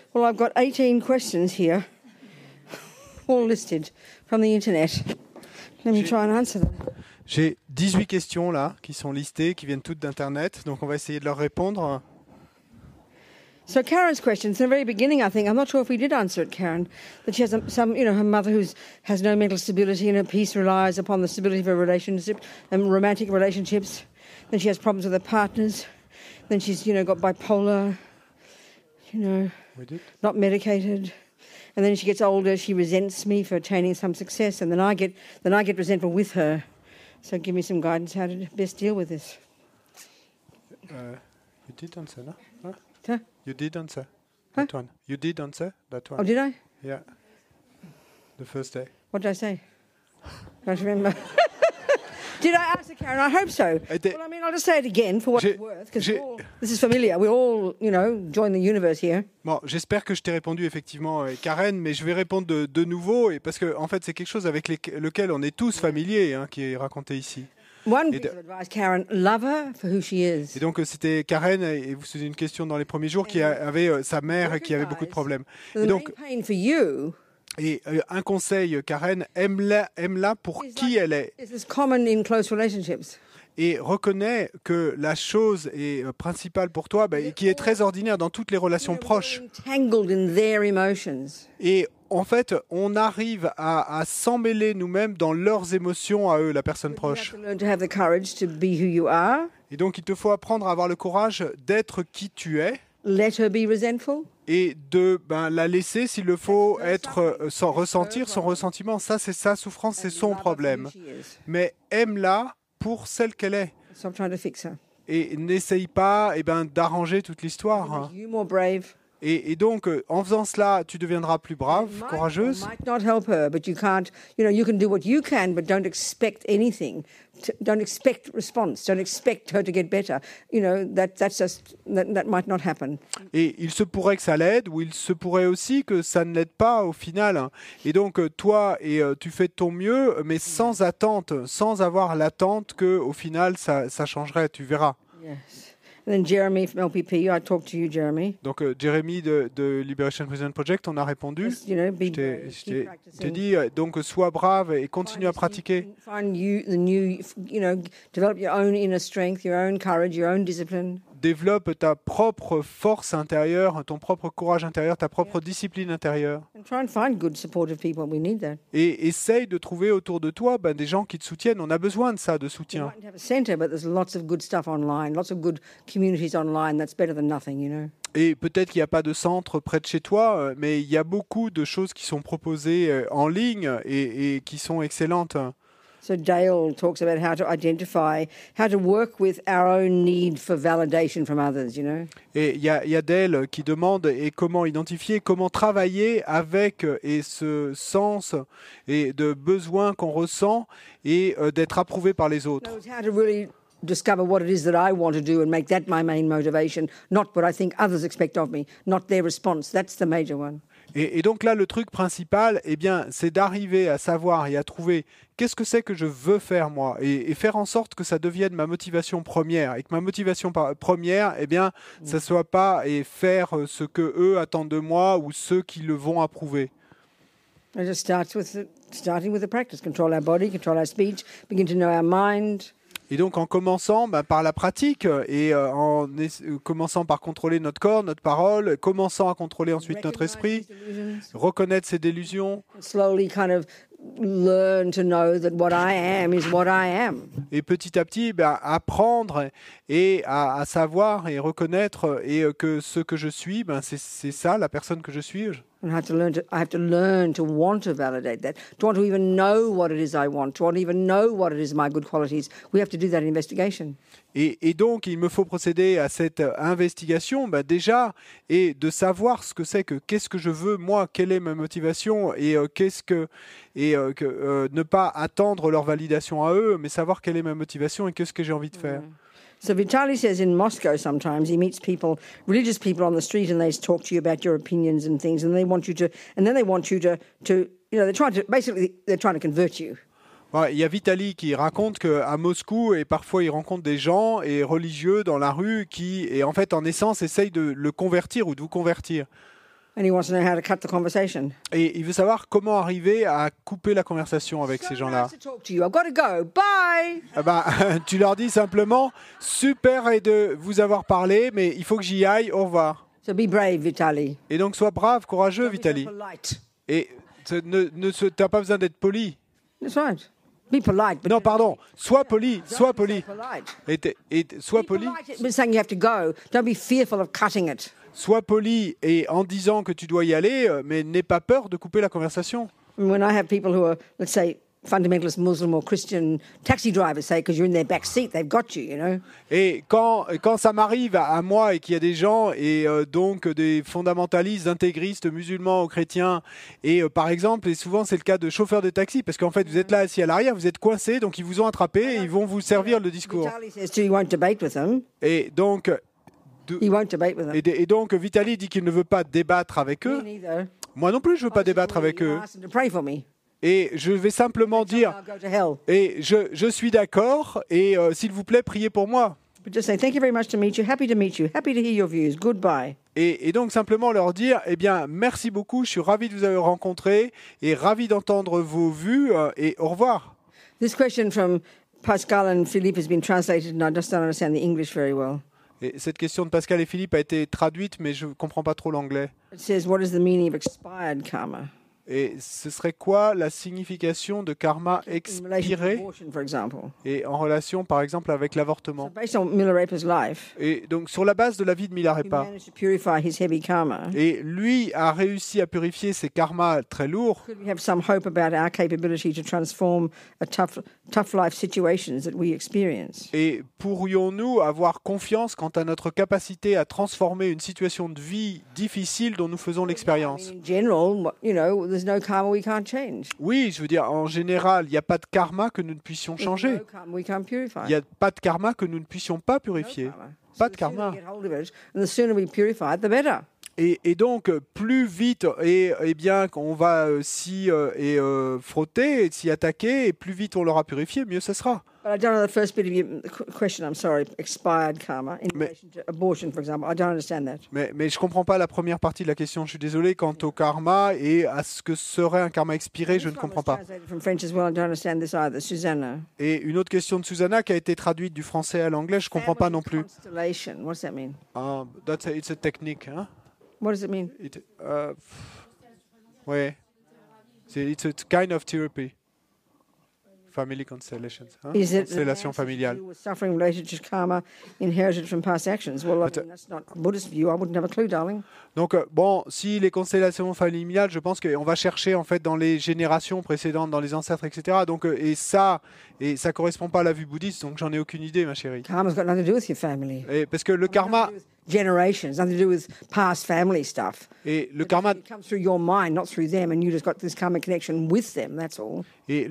Well, I've got 18 questions here, all listed from the internet. Let me try and answer them. J'ai 18 questions là qui sont listées, qui viennent toutes d'Internet, donc on va essayer de leur répondre. So Karen's question, from the very beginning, I think, I'm not sure if we did answer it, Karen, that she has her mother who has no mental stability and her peace relies upon the stability of her relationship and romantic relationships. Then she has problems with her partners. Then she's, got bipolar, We did? not medicated. And then as she gets older, she resents me for attaining some success, and then I get resentful with her. So give me some guidance how to best deal with this. You did answer, no? Huh? Huh? You did answer Huh? that one. You did answer that one. Oh, did I? Yeah. The first day. What did I say? Can't remember. Did I answer, Karen? I hope so. Well, I'll just say it again for what it's worth, because this is familiar. We all, join the universe here. Bon, j'espère que je t'ai répondu effectivement, Karen, mais je vais répondre de nouveau, et parce que en fait, c'est quelque chose avec lequel on est tous familiers, qui est raconté ici. One piece of advice, Karen, love her for who she is. Et donc c'était Karen, et vous posez une question dans les premiers jours, qui avait sa mère qui avait beaucoup de problèmes. Et donc, un conseil, Karen, aime-la pour qui elle est. Et reconnais que la chose est principale pour toi, et qui est très ordinaire dans toutes les relations proches. Et en fait, on arrive à s'emmêler nous-mêmes dans leurs émotions à eux, la personne proche. Et donc, il te faut apprendre à avoir le courage d'être qui tu es. Let her be resentful. Et de la laisser, s'il le faut, être sans ressentir son ressentiment. Ça, c'est sa souffrance, c'est son problème. Mais aime-la pour celle qu'elle est. Stop trying to fix her. Et n'essaye pas d'arranger toute l'histoire. You more brave. Et donc, en faisant cela, tu deviendras plus brave, courageuse. Might not help her, but you can't. You can do what you can, but don't expect anything. Don't expect response. Don't expect her to get better. That might not happen. Et il se pourrait que ça l'aide, ou il se pourrait aussi que ça ne l'aide pas au final. Et donc, toi, tu fais de ton mieux, mais sans attente, sans avoir l'attente que, au final, ça changerait. Tu verras. Yes. And then Jeremy from LPP, I talked to you, Jeremy. Donc Jeremy de Liberation Present Project, on a répondu. Je t'ai dit, donc sois brave et continue à pratiquer. Develop your own inner strength, your own courage, your own discipline. Développe ta propre force intérieure, ton propre courage intérieur, ta propre discipline intérieure. And try and find good, supportive people. We need that. Et essaye de trouver autour de toi des gens qui te soutiennent. On a besoin de ça, de soutien. You might have a center, but there's lots of good stuff online, lots of good communities online. That's better than nothing, Et peut-être qu'il n'y a pas de centre près de chez toi, mais il y a beaucoup de choses qui sont proposées en ligne et qui sont excellentes. So Dale talks about how to identify, how to work with our own need for validation from others, Et il y a Dale qui demande comment identifier, comment travailler avec ce sens et de besoin qu'on ressent et d'être approuvé par les autres. How to really discover what it is that I want to do and make that my main motivation, not what I think others expect of me, not their response. That's the major one. Et donc là, le truc principal, c'est d'arriver à savoir et à trouver qu'est-ce que c'est que je veux faire moi et faire en sorte que ça devienne ma motivation première et que ma motivation première, ça soit pas faire ce que eux attendent de moi ou ceux qui le vont approuver. It just starting with the practice. Control our body, control our speech, begin to know our mind. Et donc en commençant par la pratique et en commençant par contrôler notre corps, notre parole, commençant à contrôler ensuite notre esprit, reconnaître ses délusions. Slowly kind of learn to know that what I am is what I am. Et petit à petit, apprendre et à savoir et reconnaître que ce que je suis, c'est ça, la personne que je suis. And I have to learn to want to validate that, to want to even know what it is I want, to want to even know what it is my good qualities. We have to do that investigation. Et donc, il me faut procéder à cette investigation déjà et de savoir ce que c'est qu'est-ce que je veux moi, quelle est ma motivation et ne pas attendre leur validation à eux, mais savoir quelle est ma motivation et qu'est-ce que j'ai envie de faire. So Vitaly says in Moscow sometimes he meets people, religious people on the street, and they talk to you about your opinions and things, and they want you to they're trying to convert you. Il y a Vitaly qui raconte qu'à Moscou, et parfois il rencontre des gens et religieux dans la rue qui, en essence, essayent de le convertir ou de vous convertir. And he wants to know how to cut the conversation. Et il veut savoir comment arriver à couper la conversation avec ces gens-là. Nice to talk to you. I've got to go. Bye. Ah bah, tu leur dis simplement « Super et de vous avoir parlé, mais il faut que j'y aille, au revoir. So be brave, Vitaly. » Et donc, sois brave, courageux, Don't be so Vitaly. polite. Et t'as pas besoin d'être poli. That's right. Be polite. But Non, pardon, sois poli, sois don't be poli. so polite. Et sois Be poli. polite, but saying you have to go. Don't be fearful of cutting it. Sois poli et en disant que tu dois y aller, mais n'aie pas peur de couper la conversation. When I have people who are, let's say, fundamentalist Muslim or Christian taxi drivers, say, because you're in their back seat, they've got you, you know. Et quand ça m'arrive à moi et qu'il y a des gens, et donc des fondamentalistes, intégristes, musulmans ou chrétiens, et par exemple, et souvent c'est le cas de chauffeurs de taxi, parce qu'en fait vous êtes là assis à l'arrière, vous êtes coincés, donc ils vous ont attrapé et ils vont vous servir le discours. Vitaly says too, he won't debate with them. Et donc, He won't debate with them. et donc Vitaly dit qu'il ne veut pas débattre avec Me eux. neither. Moi non plus, je ne veux pas débattre avec eux. Ask them to pray for me. Et je vais simplement dire, I'll go to hell. et je suis d'accord, et s'il vous plaît, priez pour moi. But just say, thank you very much to meet you. Happy to meet you. Happy to hear your views. Goodbye. Et donc simplement leur dire, eh bien, merci beaucoup, je suis ravi de vous avoir rencontré, et ravi d'entendre vos vues, et au revoir. This question from Pascal and Philippe has been translated, and I just don't understand the English very well. Et cette question de Pascal et Philippe a été traduite, mais je ne comprends pas trop l'anglais. It says, what is the meaning of expired karma? Et ce serait quoi la signification de karma In relation to expiré abortion, for example. et en relation, par exemple, avec So l'avortement? based on Milarepa's life, Et donc, sur la base de la vie de he Milarepa, managed to purify his heavy karma. et lui a réussi à purifier ses karmas très lourds. Could we have some hope about our capability to transform a tough life situations that we experience? Et pourrions-nous avoir confiance quant à notre capacité à transformer une situation de vie difficile dont nous faisons l'expérience? In general, you know, there's no karma we can't change. Oui, je veux dire, en général, il n'y a pas de karma que nous ne puissions There's changer. no karma we can't purify. Il n'y a pas de karma que nous ne puissions pas No purifier. karma. Pas So de the sooner karma. we get hold of it, and the sooner we purify it, the better. Et donc, plus vite et bien qu'on va s'y frotter, et s'y attaquer, et plus vite on l'aura purifié, mieux ce sera. But I don't know the first bit of your question. I'm sorry, expired karma in relation to abortion, for example. I don't understand that. Mais je ne comprends pas la première partie de la question. Je suis désolé, quant au karma et à ce que serait un karma expiré, je ne This one comprends was pas. translated from French as well. I don't understand this either. Susanna. Et une autre question de Susanna qui a été traduite du français à l'anglais, je ne comprends pas non plus. Constellation. What does that mean? It's a technique. Hein? What does it mean? Ouais. It's a kind of therapy. Family constellations. Hein? Is it Constellation familiale. with suffering related to karma inherited from past actions? Well, I mean, that's not Buddhist view. I wouldn't have a clue, darling. Donc, bon, si les constellations familiales, je pense qu'on va chercher en fait dans les générations précédentes, dans les ancêtres, etc. Donc, et ça correspond pas à la vue bouddhiste, donc j'en ai aucune idée, ma chérie. Karma's got nothing to do with your family. Et parce que le karma Generations, nothing to do with past family stuff. et le karma It comes through your mind, not through them, and you just got this karmic connection with them. That's all.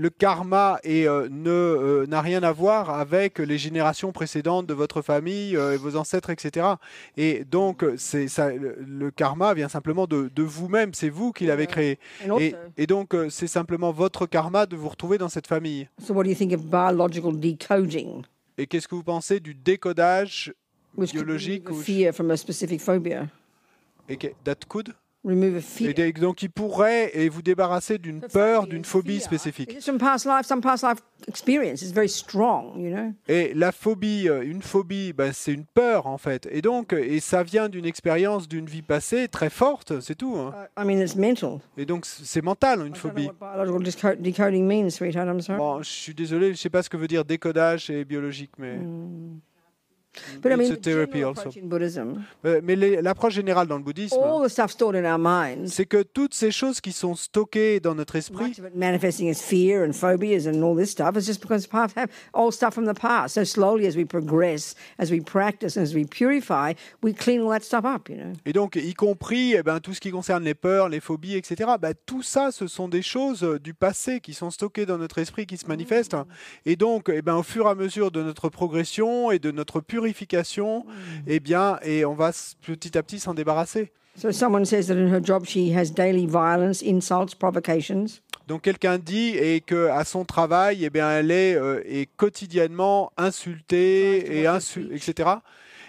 n'a rien à voir avec les générations précédentes de votre famille, et vos ancêtres, etc. Et donc, le karma vient simplement de vous-même, c'est vous qui l'avez créé. And also, Et donc, c'est simplement votre karma de vous retrouver dans cette famille. so what do you think of biological decoding? Et qu'est-ce que vous pensez du décodage Which could biologique remove a fear from a specific phobia. that could Remove a fear. et donc, il pourrait vous débarrasser d'une peur, d'une phobie spécifique. It's from past life, some past life experience. It's very strong, you know. Et la phobie, une phobie, c'est une peur en fait. Et donc, ça vient d'une expérience d'une vie passée très forte, c'est tout. Hein. I mean, it's mental. Et donc, c'est mental, une I don't know phobie. what biological decoding means, sweetheart. I'm sorry. Bon, je suis désolé, je ne sais pas ce que veut dire décodage et biologique, mais But I mean, it's a the therapy general also. approach in Buddhism, Mais l'approche générale dans le bouddhisme, all the stuff stored in our minds, c'est que toutes ces choses qui sont stockées dans notre esprit, much of it manifesting as fear and phobias and all this stuff, is just because part of old stuff from the past. So slowly, as we progress, as we practice, as we purify, we clean all that stuff up, you know. et donc y compris tout ce qui concerne les peurs, les phobies, etc. Tout ça, ce sont des choses du passé qui sont stockées dans notre esprit, qui se manifestent. Et donc, au fur et à mesure de notre progression et de notre purification, et on va petit à petit s'en débarrasser. So someone says that in her job she has daily violence, insults, provocations. Donc quelqu'un dit et que à son travail, elle est quotidiennement insultée et etc.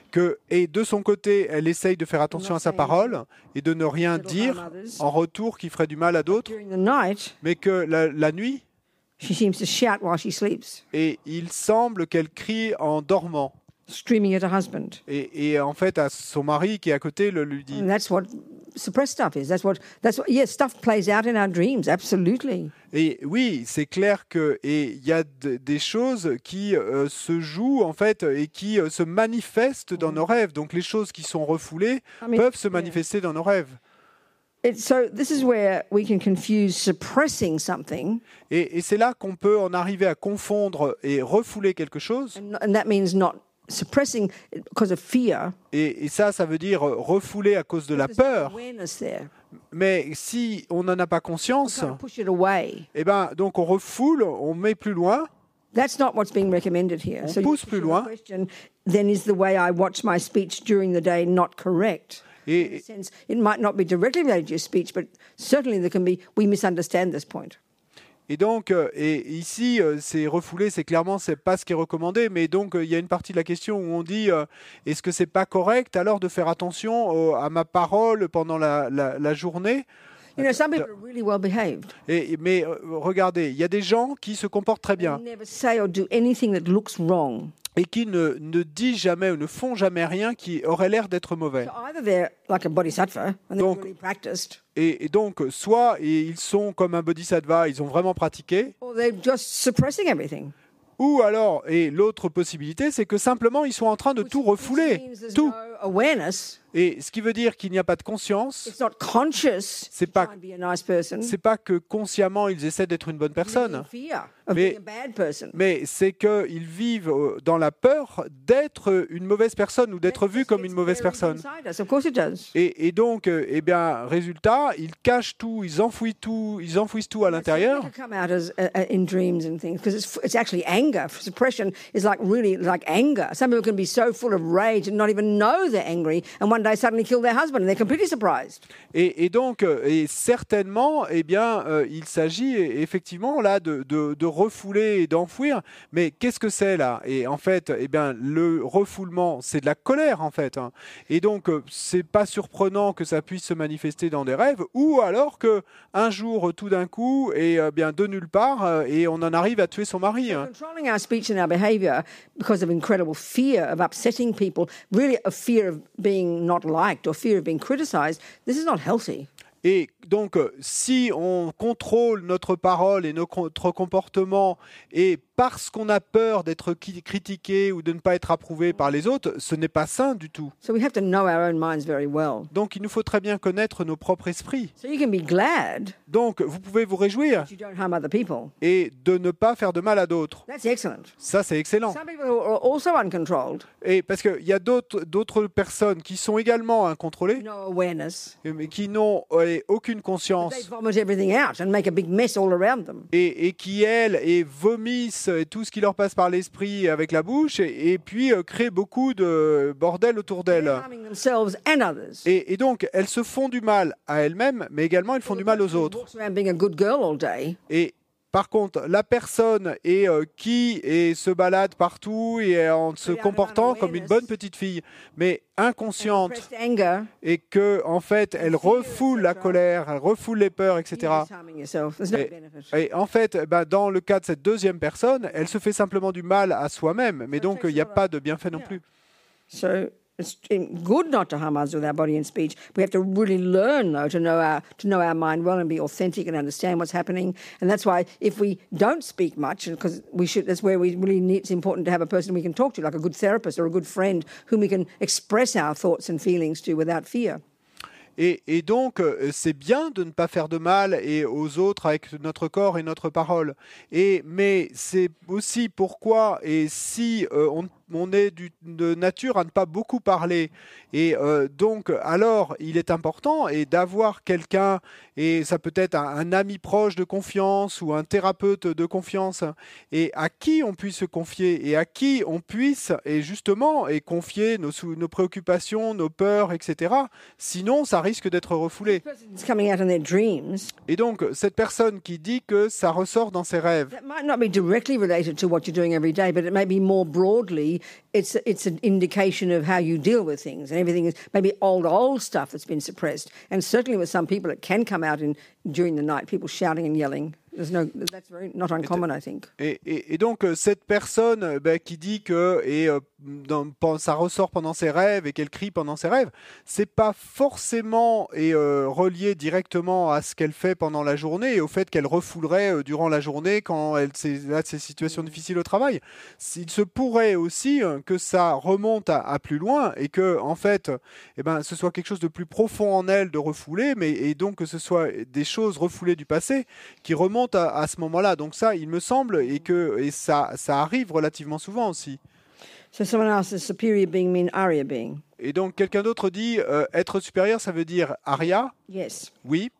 Et de son côté, elle essaye de faire attention à sa parole et de ne rien dire en retour qui ferait du mal à d'autres, During the night, mais que la nuit, she seems to shout while she sleeps, et il semble qu'elle crie en dormant. screaming at her husband. Et en fait, à son mari qui est à côté lui dit. And that's what suppressed stuff is. That's what. Yes, stuff plays out in our dreams. Absolutely. Et oui, c'est clair que il y a des choses qui se jouent en fait et qui se manifestent dans nos rêves. Donc les choses qui sont refoulées peuvent se manifester dans nos rêves. So this is where we can confuse suppressing something. Et c'est là qu'on peut en arriver à confondre et refouler quelque chose. And that means not suppressing because of fear. Et ça veut dire refouler à cause de la peur. Awareness there. Mais si on n'en a pas conscience, Push it away. eh ben, donc on refoule, on met plus loin. That's not what's being recommended here. On pousse plus loin. Question, then is the way I watch my speech during the day not correct? In a sense, it might not be directly related to your speech, but certainly there can be, we misunderstand this point. Et donc, et ici, c'est refoulé, c'est clairement, c'est pas ce qui est recommandé, mais donc il y a une partie de la question où on dit, est-ce que c'est pas correct alors de faire attention à ma parole pendant la journée? You know, some people are really well behaved. Mais regardez, il y a des gens qui se comportent très bien. They never say or do anything that looks wrong. Et qui ne disent jamais ou ne font jamais rien qui aurait l'air d'être mauvais. So either they're like a bodhisattva and they're Donc, really practiced, et donc, soit ils sont comme un bodhisattva, ils ont vraiment pratiqué, or they're just suppressing everything. ou alors, et l'autre possibilité, c'est que simplement ils sont en train de tout refouler, Which means there's tout. no awareness. Et ce qui veut dire qu'il n'y a pas de conscience, It's not conscious. C'est to pas- try and be a nice person. c'est pas que consciemment ils essaient d'être une bonne personne, Fear of Mais- being a bad person. mais c'est qu'ils vivent dans la peur d'être une mauvaise personne ou d'être vus comme une mauvaise personne. Inside us. Of course it does. Et donc, eh bien, résultat, ils cachent tout, ils enfouissent tout à l'intérieur. It can come out as in dreams and things because it's actually anger. Suppression is like really like anger. Some people can be so full of rage and not even know they're angry, and one day suddenly kill their husband, and they're completely surprised. Et donc, et certainement, eh bien, il s'agit effectivement là de refouler et d'enfouir. Mais qu'est-ce que c'est là? Et en fait, eh bien, le refoulement, c'est de la colère en fait. Hein. Et donc, c'est pas surprenant que ça puisse se manifester dans des rêves, ou alors que un jour, tout d'un coup, et bien de nulle part, et on en arrive à tuer son mari. Hein. Controlling our speech and our behaviour because of incredible fear of upsetting people, really a fear of being not liked or fear of being criticised, this is not healthy. Et donc, si on contrôle notre parole et notre comportement, et parce qu'on a peur d'être critiqué ou de ne pas être approuvé par les autres, ce n'est pas sain du tout. So we have to know our own minds very well. Donc, il nous faut très bien connaître nos propres esprits. So you can be glad Donc, vous pouvez vous réjouir that you don't harm other people. et de ne pas faire de mal à d'autres. That's excellent. Ça, c'est excellent. Some people are also uncontrolled, Et parce qu'il y a d'autres personnes qui sont également incontrôlées, no awareness. mais qui n'ont aucune They conscience. vomit everything out and make a big mess all around them. Et qui, elles, vomissent tout ce qui leur passe par l'esprit avec la bouche, et puis créent beaucoup de bordel autour They're d'elles. harming themselves and others. Et donc, elles se font du mal à elles-mêmes, mais également elles font du mal aux autres. Walks around being a good girl all day. Et par contre, la personne qui se balade partout et en se comportant comme une bonne petite fille, mais inconsciente, Repressed anger. et que en fait, elle refoule la colère, elle refoule les peurs, etc. You're just harming yourself. There's no Et, benefit. et en fait, dans le cas de cette deuxième personne, elle se fait simplement du mal à soi-même, mais donc il n'y a pas de bienfait non plus. So it's good not to harm others with our body and speech. We have to really learn, though, to know our mind well and be authentic and understand what's happening. And that's why if we don't speak much, because that's where we really need. It's important to have a person we can talk to, like a good therapist or a good friend, whom we can express our thoughts and feelings to without fear. Et donc, c'est bien de ne pas faire de mal aux autres avec notre corps et notre parole. Mais c'est aussi pourquoi, et si on est de nature à ne pas beaucoup parler, et donc alors il est important d'avoir quelqu'un, et ça peut être un ami proche de confiance ou un thérapeute de confiance, et à qui on puisse se confier, et à qui on puisse confier nos préoccupations, nos peurs, etc. Sinon, ça risque d'être refoulé. It's coming out in their dreams. Et donc, cette personne qui dit que ça ressort dans ses rêves, That might not be directly related to what you're doing every day, but it may be more broadly maybe it's an indication of how you deal with things, and everything is maybe old stuff that's been suppressed. And certainly with some people, it can come out during the night, people shouting and yelling. That's not uncommon, I think. Et donc, cette personne qui dit que ça ressort pendant ses rêves et qu'elle crie pendant ses rêves, c'est pas forcément relié directement à ce qu'elle fait pendant la journée et au fait qu'elle refoulerait durant la journée quand elle a ces situations difficiles au travail. Il se pourrait aussi que ça remonte à plus loin et que, en fait, ce soit quelque chose de plus profond en elle de refouler, et donc que ce soit des choses refoulées du passé qui remontent à ce moment-là. Donc ça, il me semble, et ça arrive relativement souvent aussi. So someone else, does superior being mean Arya being? Et donc quelqu'un d'autre dit être supérieur, ça veut dire Arya? Yes. Oui.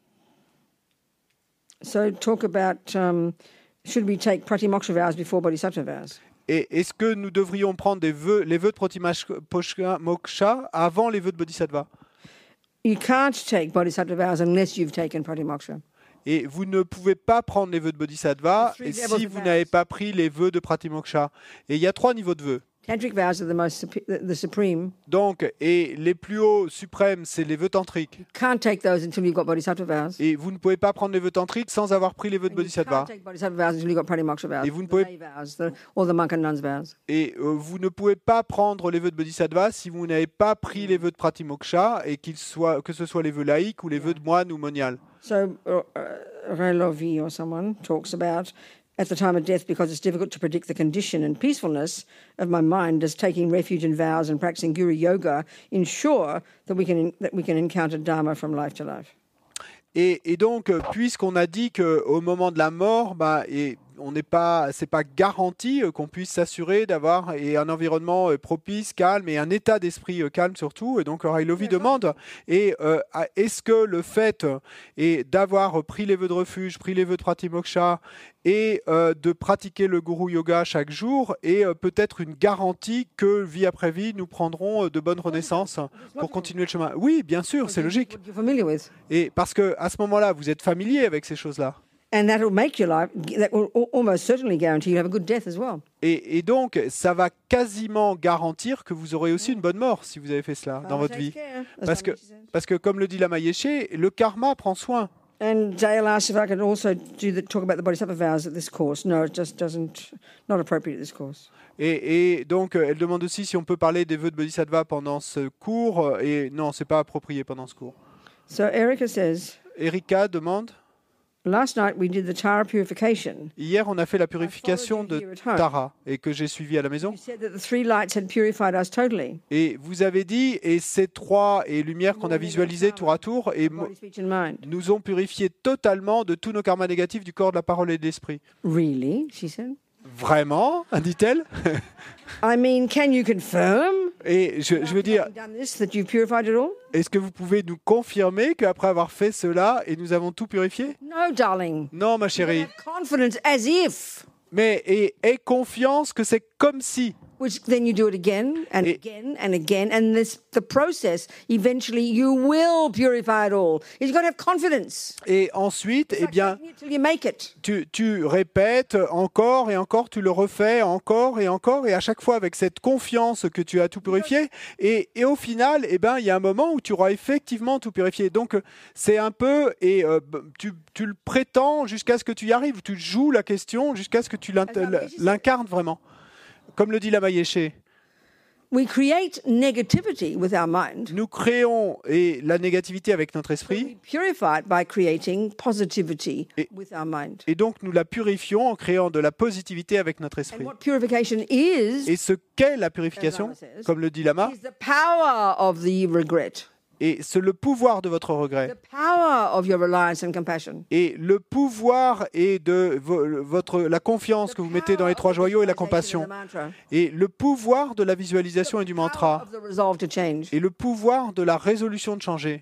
So talk about should we take Pratimoksha vows before Bodhisattva vows? Et est-ce que nous devrions prendre les vœux de Pratimoksha avant les vœux de Bodhisattva? You can't take Bodhisattva vows unless you've taken Pratimoksha. Et vous ne pouvez pas prendre les vœux de Bodhisattva si vous n'avez pas pris les vœux de Pratimoksha. Et il y a 3 niveaux de vœux. Tantric vows are the supreme. Donc, et les plus hauts suprêmes, c'est les vœux tantriques. You can't take those until you've got Bodhisattva vows. Et vous ne pouvez pas prendre les vœux tantriques sans avoir pris les vœux de Bodhisattva. You can't take Bodhisattva vows until you've got Pratimoksha vows. Et vous ne pouvez or the monk and nun's vows. Et vous ne pouvez pas prendre les vœux de Bodhisattva si vous n'avez pas pris les vœux de Pratimoksha, et que ce soit les vœux laïques ou les vœux de moine ou monial. So Railovi or someone talks about at the time of death, because it's difficult to predict the condition and peacefulness of my mind, does taking refuge in vows and practicing Guru Yoga ensure that we can encounter Dharma from life to life? Et donc, puisqu'on a dit qu'au moment de la mort, c'est pas garanti qu'on puisse s'assurer d'avoir un environnement propice, calme, et un état d'esprit calme surtout. Et donc, Railovi demande, est-ce que le fait d'avoir pris les vœux de refuge, pris les vœux de Pratimoksha, et de pratiquer le Guru Yoga chaque jour est peut-être une garantie que vie après vie, nous prendrons de bonnes renaissances pour continuer le chemin? Oui, bien sûr, c'est logique. Et parce que à ce moment-là, vous êtes familier avec ces choses-là. And that will make your life, that will almost certainly guarantee you have a good death as well. Et donc, ça va quasiment garantir que vous aurez aussi une bonne mort si vous avez fait cela dans votre vie. Parce que comme le dit Lama Yeshe, le karma prend soin. And Dale asked if I could also talk about the Bodhisattva vows at this course. No, it just not appropriate at this course. Et donc, elle demande aussi si on peut parler des vœux de Bodhisattva pendant ce cours. Et non, c'est pas approprié pendant ce cours. So Erica says. Erika demande. Last night we did the Tara purification. Hier, on a fait la purification de Tara et que j'ai suivi à la maison. You said that the 3 lights had purified us totally. Et vous avez dit, et ces 3 lumières qu'on a visualisées tour à tour nous ont purifié totalement de tous nos karmas négatifs du corps, de la parole et de l'esprit. Really? She said. Vraiment, dit-elle. I mean, can you confirm? Et je veux dire, est-ce que vous pouvez nous confirmer qu'après avoir fait cela, et nous avons tout purifié? No, darling. Non, ma chérie. Confidence as if. Mais aie confiance que c'est comme si. Which then you do it again and again and again, and the process, eventually you will purify it all. You've got to have confidence. Et ensuite, tu répètes encore et encore, tu le refais encore, et à chaque fois avec cette confiance que tu as tout purifié. Et au final, il y a un moment où tu auras effectivement tout purifié. Donc, c'est un peu, tu le prétends jusqu'à ce que tu y arrives. Tu joues la question jusqu'à ce que tu l'incarnes vraiment. Comme le dit Lama Yeshe, we create negativity with our mind. Nous créons la négativité avec notre esprit. We purify it by creating positivity with our mind. Et donc nous la purifions en créant de la positivité avec notre esprit. And what purification is, et ce qu'est la purification, comme le dit Lama, is the power of the regret. Et c'est le pouvoir de votre regret. The power of your reliance and compassion. Et le pouvoir et de la confiance que vous mettez dans les 3 joyaux et la compassion. Et le pouvoir de la visualisation et du mantra. Et le pouvoir de la résolution de changer.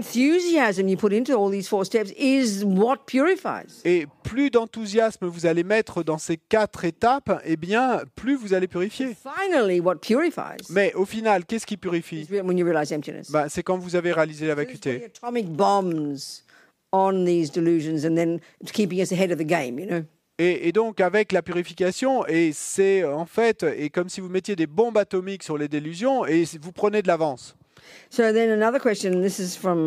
Et plus d'enthousiasme vous allez mettre dans ces 4 étapes, plus vous allez purifier. Mais au final, qu'est-ce qui purifie? C'est quand vous avez réalisé la vacuité. Et donc avec la purification, et c'est en fait et comme si vous mettiez des bombes atomiques sur les délusions et vous prenez de l'avance. So then another question, and this is from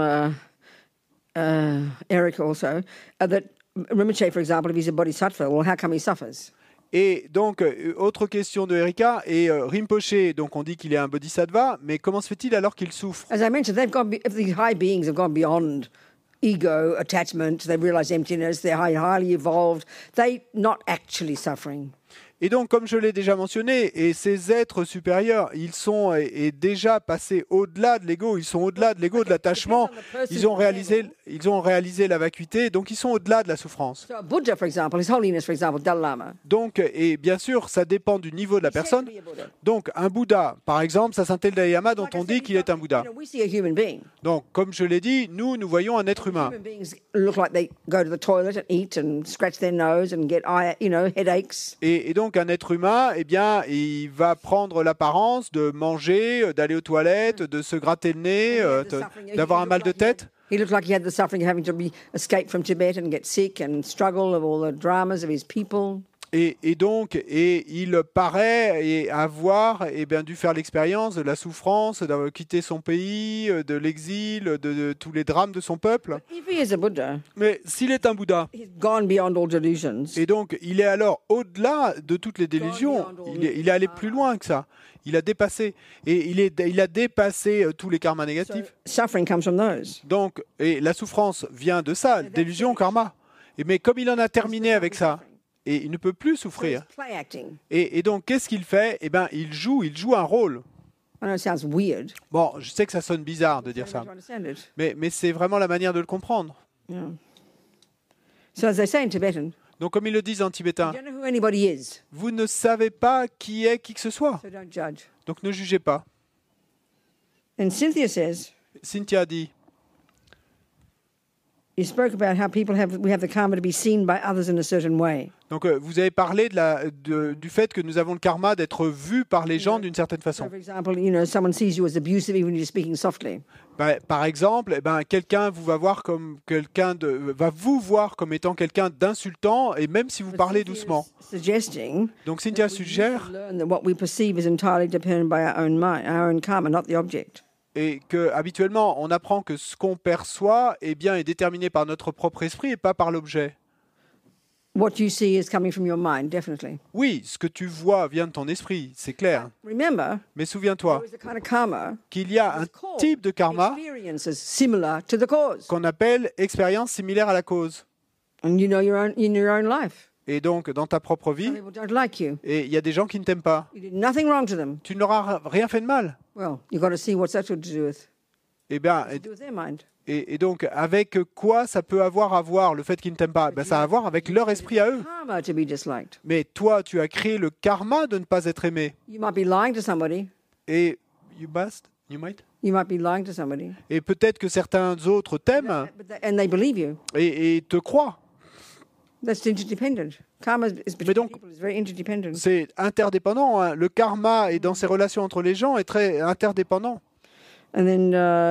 Eric also, that Rinpoche, for example, if he's a bodhisattva, well, how come he suffers? Et donc, autre question de Erika, et Rinpoché, donc on dit qu'il est un bodhisattva, mais comment se fait-il alors qu'il souffre? As I mentioned, if these high beings have gone beyond ego, attachment, they realize emptiness, they're highly evolved, they're not actually suffering. Et donc, comme je l'ai déjà mentionné, et ces êtres supérieurs, ils sont déjà passés au-delà de l'ego, ils sont au-delà de l'ego, de l'attachement, ils ont réalisé la vacuité, donc ils sont au-delà de la souffrance. So a Buddha, for example, His Holiness, for example, Dalai Lama. Donc, et bien sûr, ça dépend du niveau de la personne. Donc, un Bouddha, par exemple, ça s'appelle Dalai Lama, dont on dit qu'il est un Bouddha. We see a human being. Donc, comme je l'ai dit, nous voyons un être humain. Human beings look like they go to the toilet and eat and scratch their nose and get, headaches. Et donc, un être humain, eh bien, il va prendre l'apparence de manger, d'aller aux toilettes, de se gratter le nez, d'avoir un mal de tête. He looked like he had the suffering of having to escape from Tibet and get sick and struggle of all the dramas of his people. Et donc, il paraît avoir dû faire l'expérience de la souffrance, d'avoir quitté son pays, de l'exil, de tous les drames de son peuple. If he is a Buddha, Mais s'il est un Bouddha, he's gone beyond all delusions. et donc il est alors au-delà de toutes les délusions, il est allé plus loin que ça. Il a dépassé. Et il a dépassé tous les karmas négatifs. Suffering comes from those. Donc, et la souffrance vient de ça, délusion, karma. Mais comme il en a terminé avec ça, et il ne peut plus souffrir. Play acting. Et donc, qu'est-ce qu'il fait? Eh bien, il joue un rôle. I know it sounds weird. Bon, je sais que ça sonne bizarre de dire You ça, need to understand it. mais c'est vraiment la manière de le comprendre. Yeah. So as they say in Tibetan, Donc, comme ils le disent en tibétain, you don't know who anybody is, vous ne savez pas qui est qui que ce soit. so don't judge. Donc, ne jugez pas. And Cynthia says, Cynthia dit, you spoke about how we have the karma to be seen by others in a certain way. donc vous avez parlé du fait que nous avons le karma d'être vus par les gens d'une certaine So, façon. for example, someone sees you as abusive even when you're speaking softly. Par exemple, quelqu'un va vous voir comme étant quelqu'un d'insultant, et même si vous parlez doucement. Suggesting Donc Cynthia suggère learn that what we perceive is entirely dependent by our own mind, our own karma, not the object. et que habituellement on apprend que ce qu'on perçoit est déterminé par notre propre esprit et pas par l'objet. What you see is coming from your mind, definitely. Oui, ce que tu vois vient de ton esprit, c'est clair. Remember, Mais souviens-toi there is a kind of karma qu'il y a un type de karma experiences similar to the cause, qu'on appelle expérience similaire à la cause. and you know in your own life. Et donc dans ta propre Some vie, people don't like you. et il y a des gens qui ne t'aiment pas. You did nothing wrong to them. Tu n'auras rien fait de mal. Well, you've got to see what's that got to do with. Eh bien, To do with their mind. et donc, avec quoi ça peut avoir à voir le fait qu'ils ne t'aiment pas? Ça a à voir avec leur esprit à eux. Karma to be disliked. Mais toi, tu as créé le karma de ne pas être aimé. You might be lying to somebody. Et you might. be lying to somebody. Et peut-être que certains autres t'aiment And they believe you. et te croient. That's interdependent. Karma is between donc, people is very interdependent. C'est interdépendant. Hein. Le karma et dans ses relations entre les gens est très interdépendant. And then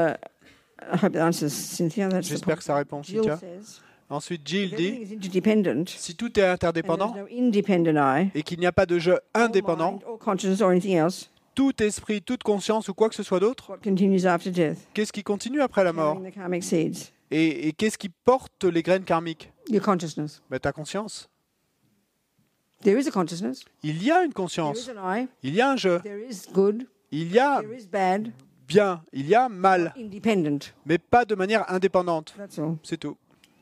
I hope that answers Cynthia. That's the J'espère que ça répond, Jill Cynthia. says, Ensuite, Jill if dit, everything is interdependent, si tout est and interdépendant there's no independent I, et qu'il n'y a pas de jeu or indépendant, mind, or consciousness, or anything else, tout esprit, toute conscience ou quoi que ce soit d'autre, what continues after death? qu'est-ce qui continue après la mort? Carrying the karmic seeds. Et qu'est-ce qui porte les graines karmiques? Your consciousness. Ta conscience. There is a consciousness. Il y a une There conscience. is an I. Il y a un jeu. There is good. Il y a There is bad. bien. Il y a mal. Independent. Mais pas de manière indépendante. That's all. C'est tout.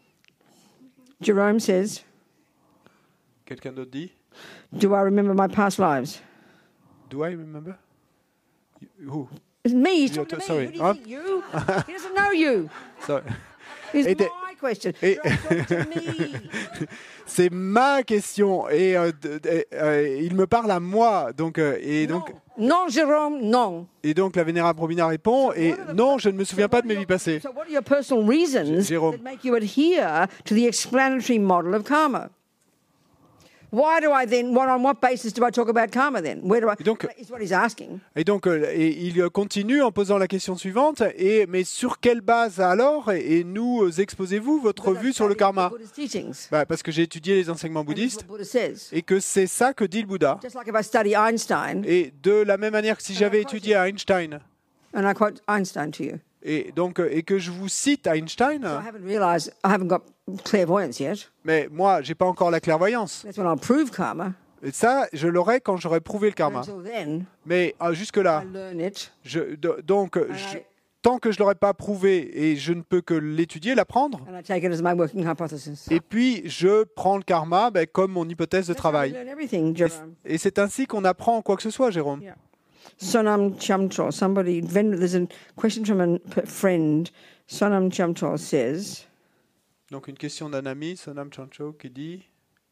Jerome says, Quelqu'un d'autre dit? do I remember my past lives? Do I remember? Who? It's me. He's Yeah, talking to me. sorry. Who do you think? You? He doesn't know you. Sorry. It's Et my question. et- Jerome, talk to me. C'est ma question et il me parle à moi. Donc, Non. Non, Jérôme, non. et donc la vénérable Robina répond et non, je ne me souviens pas de mes vies passées. So what are your personal reasons Jérôme. that make you adhere to the explanatory model of karma? Why do I then, on what basis do I talk about karma then? Where do I, Et donc, is what he's asking. et donc il continue en posant la question suivante, mais sur quelle base alors et nous exposez-vous votre vue sur le karma? Buddha's teachings. Parce que j'ai étudié les enseignements And this is bouddhistes what Buddha says. et que c'est ça que dit le Bouddha. Just like if I study Einstein, Et de la même manière que si j'avais étudié Einstein and I quote Einstein to you, et que je vous cite Einstein, I haven't realized I haven't got clairvoyance yet. mais moi j'ai pas encore la clairvoyance. That's when I'll prove karma. Et ça, je l'aurai quand j'aurai prouvé le karma. Until then, Mais jusque-là, I learn it. tant que je l'aurai pas prouvé et je ne peux que l'étudier, l'apprendre, And I take it as my working hypothesis. et puis je prends le karma comme mon hypothèse de That's how we travail. learn everything, Jerome. Et c'est ainsi qu'on apprend quoi que ce soit, Jérôme. Yeah. Sonam Chamchol, there's a question from a friend. Sonam Chamchol says, Donc une question d'un ami, Sonam Chancho, qui dit...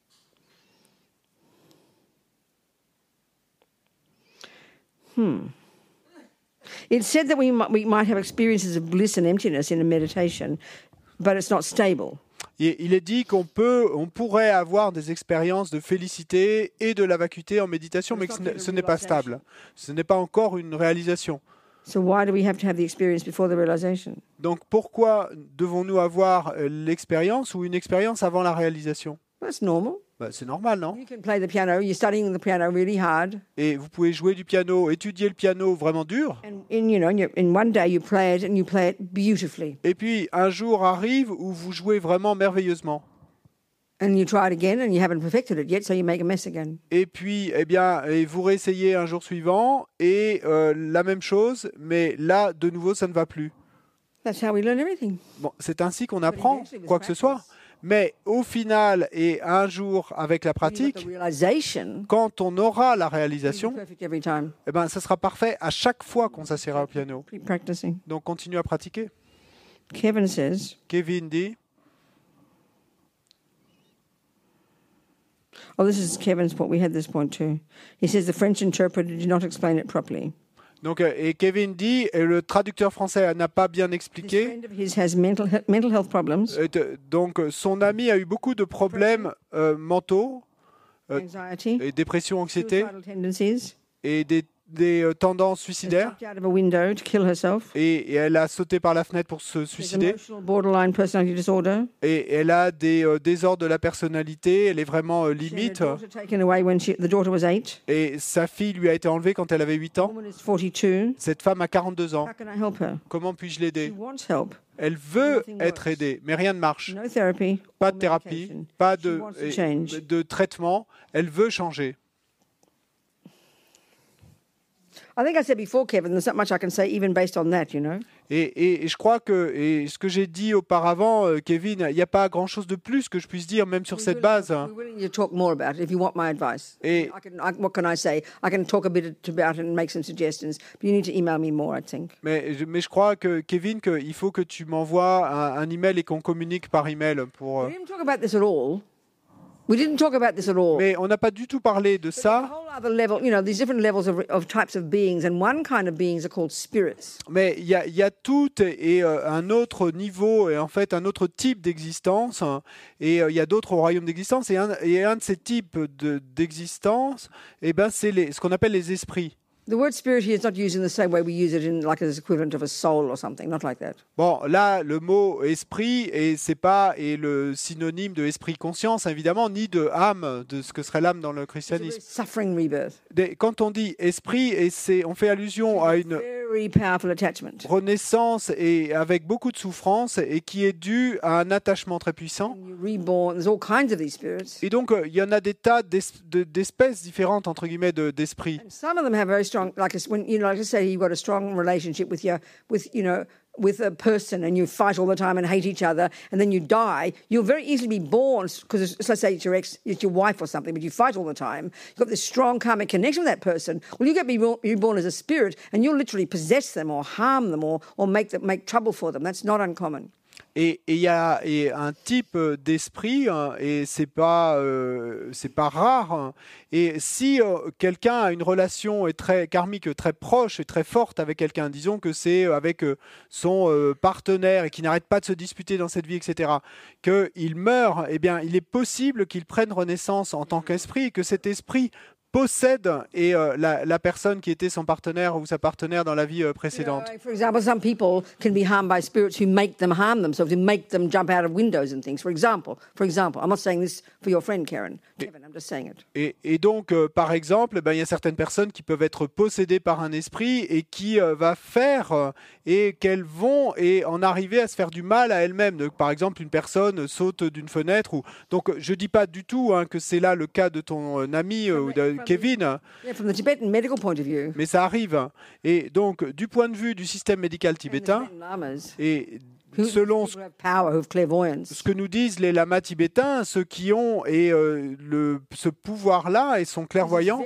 it's said that we might have experiences of bliss and emptiness in a meditation, but it's not stable. Il est dit on pourrait avoir des expériences de félicité et de la vacuité en méditation, mais que ce n'est pas stable. Ce n'est pas encore une réalisation. So why do we have to have the experience before the realization? Donc pourquoi devons-nous avoir l'expérience ou une expérience avant la réalisation? That's normal. C'est normal, non? You can play the piano. You're studying the piano really hard, Et vous pouvez jouer du piano, étudier le piano vraiment dur. and in one day you play it and you play it beautifully, Et puis un jour arrive où vous jouez vraiment merveilleusement. and you try it again and you haven't perfected it yet, so you make a mess again. Et puis, vous réessayez un jour suivant et la même chose, mais là, de nouveau, ça ne va plus. That's how we learn everything. Bon, c'est ainsi qu'on apprend quoi que ce soit. Mais au final, et un jour avec la When you've got pratique, the realization, quand on aura la you'll be réalisation, perfect every time. ça sera parfait à chaque fois qu'on s'assiera au piano. Keep practicing. Donc, continue à pratiquer. Kevin says, Kevin dit, oh, this is Kevin's point. We had this point too. He says the French interpreter did not explain it properly. donc, et Kevin dit, et le traducteur français n'a pas bien This expliqué. friend of his has mental health problems, Donc, son ami a eu beaucoup de problèmes mentaux, anxiety, et dépression, anxiété, suicidal tendencies. et des tendances Has suicidaires. jumped out of a window to kill herself. Et elle a sauté par la fenêtre pour se There's suicider. emotional borderline personality disorder. Et elle a des désordres de la personnalité. Elle est vraiment She had limite. a daughter taken away when the daughter was 8. Et sa fille lui a été enlevée quand elle avait 8 The ans. woman is 42. Cette femme a 42 ans. How can I help her? Comment puis-je She l'aider? wants help. Elle veut Nothing être works. aidée, mais rien ne marche. No therapy. Pas or de thérapie, medication. pas She wants to change. de traitement. Elle veut changer. I think I said before, Kevin, there's not much I can say even based on that, you know. Et je crois que, et ce que j'ai dit auparavant, Kevin, il n'y a pas grand-chose de plus que je puisse dire, même sur cette base. We're willing to talk more about it if you want my advice. Et- What can I say? I can talk a bit about it and make some suggestions, but you need to email me more, I think. Mais je crois que, Kevin, qu'il faut que tu m'envoies un email et qu'on communique par email pour... We didn't talk about this at all. We didn't talk about this at all. Mais on n'a pas du tout parlé de There's a ça, whole other level, you know, these different levels of types of beings, and one kind of beings are called spirits. mais il y a tout et un autre niveau, et en fait un autre type d'existence, hein, et il y a d'autres royaumes d'existence, et un de ces types d'existence, c'est ce qu'on appelle les esprits. The word spirit here is not used in the same way we use it in like as equivalent of a soul or something, not like that. Bon, là, le mot esprit, c'est pas le synonyme de esprit conscience, évidemment, ni de âme, de ce que serait l'âme dans le It's a very christianisme. suffering rebirth. Quand on dit esprit, on fait allusion à une Very powerful attachment. renaissance et avec beaucoup de souffrance et qui est due à un attachement très puissant. And you're reborn. There's all kinds of these spirits. Et donc, il y en a des tas d'espèces différentes, entre guillemets, d'esprits. And some of them have very strong, when you know, like let's say you've got a strong relationship with a person, and you fight all the time and hate each other, and then you die. You'll very easily be born because let's say it's your wife or something, but you fight all the time. You've got this strong karmic connection with that person. Well, you get reborn as a spirit, and you'll literally possess them or harm them or make trouble for them. That's not uncommon. Et il y a un type d'esprit, hein, et c'est pas rare, hein. Et si quelqu'un a une relation très karmique, très proche et très forte avec quelqu'un, disons que c'est avec son partenaire et qui n'arrête pas de se disputer dans cette vie, etc., qu'il meurt, eh bien, il est possible qu'il prenne renaissance en tant qu'esprit et que cet esprit possède la personne qui était son partenaire ou sa partenaire dans la vie précédente. For example, some people can be harmed by spirits who make them harm themselves, who make them jump out of windows and things. For example, I'm not saying this for your friend Kevin, I'm just saying it. Et donc, par exemple, il y a certaines personnes qui peuvent être possédées par un esprit et qui va faire et qu'elles vont en arriver à se faire du mal à elles-mêmes. Donc, par exemple, une personne saute d'une fenêtre. Donc, je dis pas du tout que c'est là le cas de ton ami ou de Kevin. Yeah, from the Tibetan medical point of view. Mais ça arrive. Et donc, du point de vue du système médical tibétain, et selon ce que nous disent les lamas tibétains, ceux qui ont ce pouvoir-là et sont clairvoyants,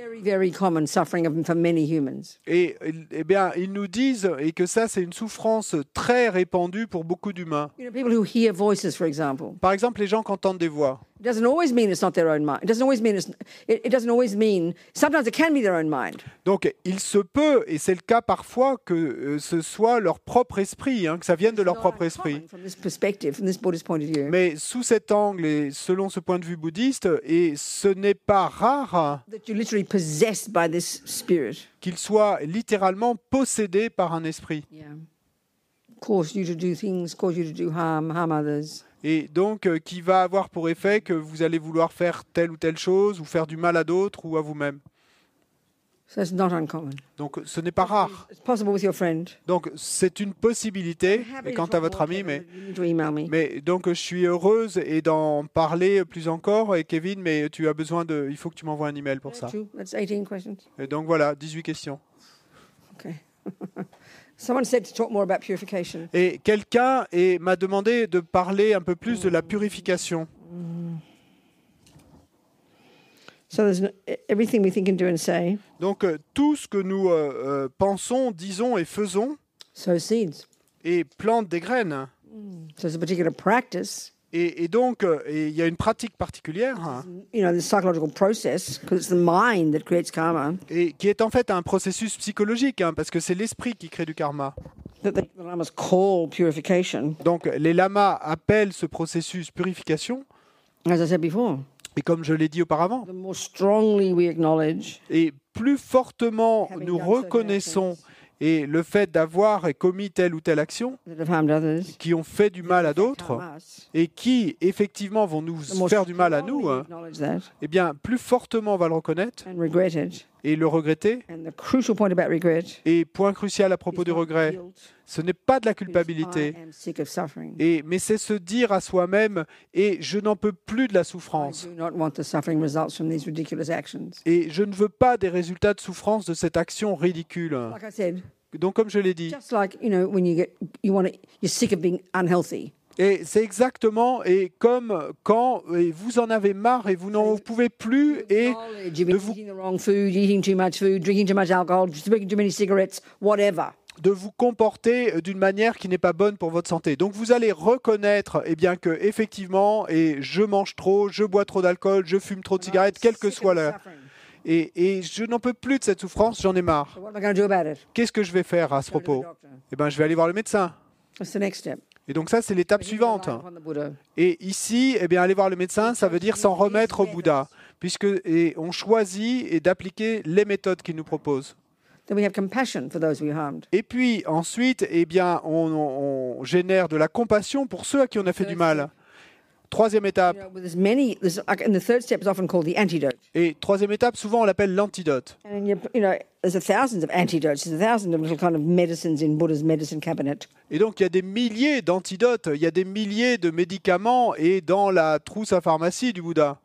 et bien, ils nous disent que ça, c'est une souffrance très répandue pour beaucoup d'humains. Par exemple, les gens qui entendent des voix. It doesn't always mean it's not their own mind. It doesn't always mean. Sometimes it can be their own mind. Donc, il se peut, et c'est le cas parfois, que ce soit leur propre esprit, que ça vienne de leur propre esprit. Mais sous cet angle et selon ce point de vue bouddhiste, et ce n'est pas rare qu'ils soient littéralement possédés par un esprit. Yeah. Cause you to do things, cause you to do harm others. Et donc, qui va avoir pour effet que vous allez vouloir faire telle ou telle chose, ou faire du mal à d'autres, ou à vous-même. So it's not uncommon. Donc, ce n'est pas rare. It's possible with your friend. Donc, c'est une possibilité, et quant à votre ami, mais donc, je suis heureuse et d'en parler plus encore, et Kevin, mais tu as besoin il faut que tu m'envoies un email pour ça. That's 18 questions. Et donc, voilà, 18 questions. Okay. Someone said to talk more about purification. Et quelqu'un m'a demandé de parler un peu plus de la purification. So there's everything we think and do and say. Donc tout ce que nous pensons, disons et faisons, sow seeds. Et plante des graines. So there's a particular practice. Et donc, il y a une pratique particulière, the psychological process, because it's the mind that creates karma. Et qui est en fait un processus psychologique, parce que c'est l'esprit qui crée du karma. That the lamas call purification. Donc, les lamas appellent ce processus purification. As I said before. Et comme je l'ai dit auparavant. The more strongly we acknowledge. Et plus fortement nous reconnaissons et le fait d'avoir commis telle ou telle action qui ont fait du mal à d'autres et qui, effectivement, vont nous faire du mal à nous, eh bien, plus fortement on va le reconnaître et le regretter. Et point crucial à propos du regret, ce n'est pas de la culpabilité, mais c'est se dire à soi-même « et je n'en peux plus de la souffrance ». Et je ne veux pas des résultats de souffrance de cette action ridicule. Donc, comme je l'ai dit, et c'est exactement comme quand vous en avez marre et vous n'en pouvez plus et de vous comporter d'une manière qui n'est pas bonne pour votre santé. Donc vous allez reconnaître que effectivement, je mange trop, je bois trop d'alcool, je fume trop de cigarettes, quelle que soit l'heure. Et je n'en peux plus de cette souffrance, j'en ai marre. Qu'est-ce que je vais faire à ce propos? Je vais aller voir le médecin. Et donc ça, c'est l'étape suivante. Et ici, aller voir le médecin, ça veut dire s'en remettre au Bouddha, puisque on choisit d'appliquer les méthodes qu'il nous propose. Et puis ensuite, on génère de la compassion pour ceux à qui on a fait du mal. Troisième étape. Et troisième étape, souvent on l'appelle l'antidote. Et donc il y a des milliers d'antidotes, il y a des milliers de médicaments et dans la trousse à pharmacie du Bouddha.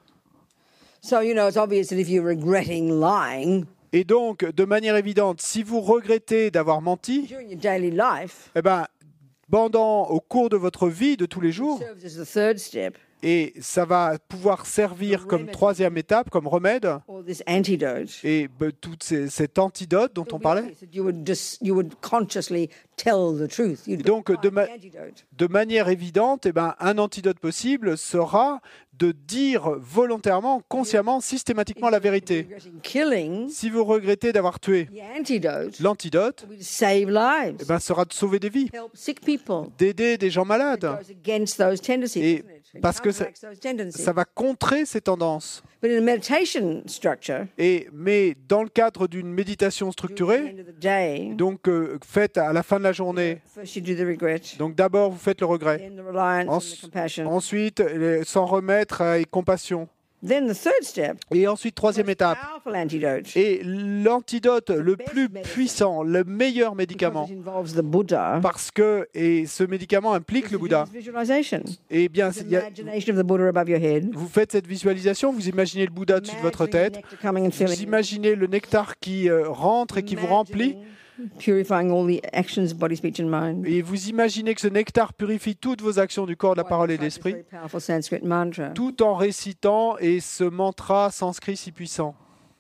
Et donc, de manière évidente, si vous regrettez d'avoir menti, au cours de votre vie de tous les jours, Et ça va pouvoir servir comme troisième étape, comme remède, or this antidote. et cet antidote dont on parlait. You would consciously tell the truth. You'd Donc, find the antidote. de manière évidente, un antidote possible sera de dire volontairement, consciemment, systématiquement la vérité. Regretting killing, Si vous regrettez d'avoir tué, the antidote l'antidote will save lives, sera de sauver des vies, help sick people. d'aider des gens It malades. goes against those tendencies, Et doesn't it? It parce que counteracts those tendencies. Ça va contrer ces tendances. But in a meditation structure, Mais dans le cadre d'une méditation at the structurée, end of the day, donc faite à la fin de la journée, first you do the regret, donc d'abord vous faites le regret, then the reliance and the compassion. ensuite s'en remettre et compassion, Then the third step, et ensuite troisième étape. powerful antidote, Et l'antidote le plus puissant, le meilleur médicament, because it involves the Buddha, parce que et ce médicament implique le Bouddha. is visualization. Eh bien, It's imagination of the Buddha above your head. vous faites cette visualisation, vous imaginez le Bouddha au-dessus de votre Imagining tête, the nectar coming and filling vous you. imaginez le nectar qui rentre et qui vous remplit, Imagining purifying all the actions, body, speech and mind. et vous imaginez que ce nectar purifie toutes vos actions du corps, de la parole et de This very l'esprit, powerful Sanskrit mantra. tout en récitant et ce mantra sanskrit si puissant.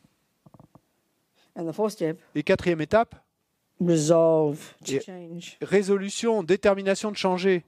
And the fourth step, Et quatrième étape, resolve to Yeah. change. résolution, détermination de changer.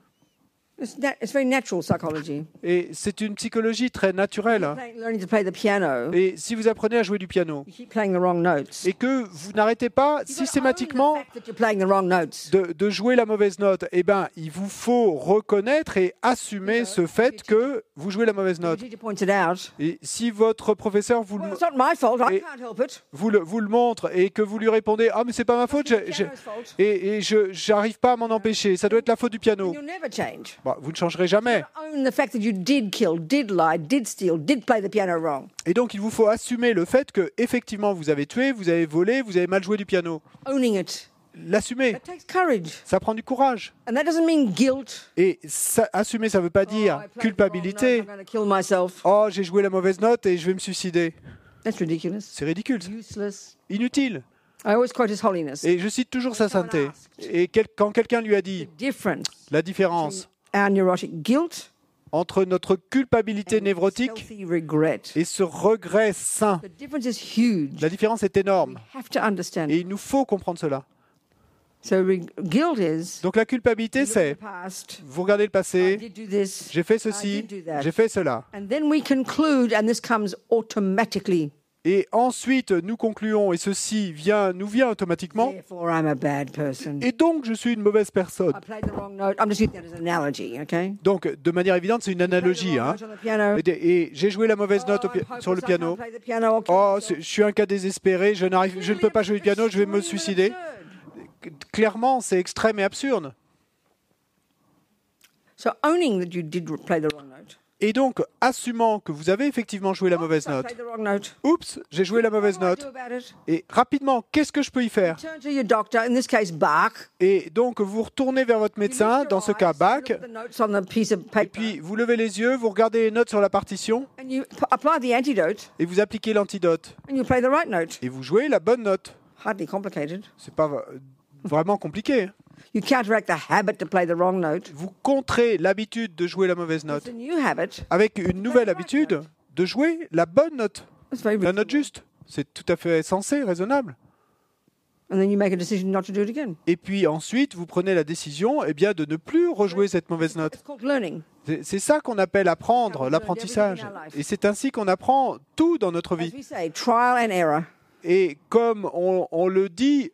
It's very natural psychology. Et c'est une psychologie très naturelle. Learning to play the piano, Et si vous apprenez à jouer du piano, you keep playing the wrong notes. et que vous n'arrêtez pas You've got to own systématiquement the fact that you're playing the wrong notes. de jouer la mauvaise note, il vous faut reconnaître et assumer ce fait que vous jouez la mauvaise The note. teacher points it out. Et si votre professeur vous Well, it's not my fault. I Et- can't help it. vous le montre et que vous lui répondez « Ah, mais c'est pas ma faute, It's the piano's fault. et je j'arrive pas à m'en empêcher, ça doit être la faute du piano. You'll never change. » Vous ne changerez jamais. Own the fact that you did kill, did lie, did steal, did play the piano wrong. Et donc, il vous faut assumer le fait que effectivement vous avez tué, vous avez volé, vous avez mal joué du piano. Owning it. L'assumer, That takes courage. ça prend du courage. And that doesn't mean guilt. Et assumer, ça ne veut pas Oh, dire I played the wrong culpabilité. note, I'm going to kill myself. « Oh, j'ai joué la mauvaise note et je vais me suicider. That's ridiculous. » C'est ridicule, Useless. inutile. I always quote His Holiness. Et je cite toujours sa sainteté. Et quand quelqu'un lui a dit Difference la différence our neurotic guilt, entre notre culpabilité névrotique healthy regret. et ce regret sain, The difference is huge. la différence est We énorme. have to understand. Et il nous faut comprendre cela. So guilt is Donc la culpabilité, look at c'est the past. vous regardez le I passé, did do this. j'ai fait I ceci, did do that. j'ai fait cela. And then we conclude, and this comes automatically. Et ensuite, nous concluons, et ceci nous vient automatiquement, Therefore, I'm a bad person. et donc je suis une mauvaise personne. I played the wrong note. I'm just using that as an analogy, okay? Donc, de manière évidente, c'est une analogie. Hein. Note on the piano. Et j'ai joué la mauvaise note Oh, I'm hopeless, sur le I piano. can't play the piano, I'll kill Oh, myself. je suis un cas désespéré, je ne peux pas jouer du piano, je vais me suicider. Clairement, c'est extrême et absurde. So owning that you did play the wrong note. Et donc, assumant que vous avez effectivement joué la mauvaise I note. played the wrong note. Oups, j'ai joué la mauvaise What do I note. do about it? Et rapidement, qu'est-ce que je peux y faire? Turn to your doctor, in this case, Bach. Et donc, vous retournez vers votre médecin, dans ce cas Bach, Look at the notes on the piece of et paper, puis vous levez les yeux, vous regardez les notes sur la partition, and you apply the antidote, et vous appliquez l'antidote. and you play the right note. Et vous jouez la bonne note. Hardly complicated. C'est pas vraiment compliqué. Hein. You counteract the habit to play the wrong note Vous contrez l'habitude de jouer la mauvaise with note a new habit. avec une nouvelle habitude de jouer la bonne note, That's very la note reasonable. juste. C'est tout à fait sensé, raisonnable. And then you make a decision not to do it again. Et puis ensuite, vous prenez la décision de ne plus rejouer cette mauvaise note. It's called learning. C'est ça qu'on appelle apprendre, l'apprentissage. Et c'est ainsi qu'on apprend tout dans notre As vie. we say, trial and error. Et comme on le dit,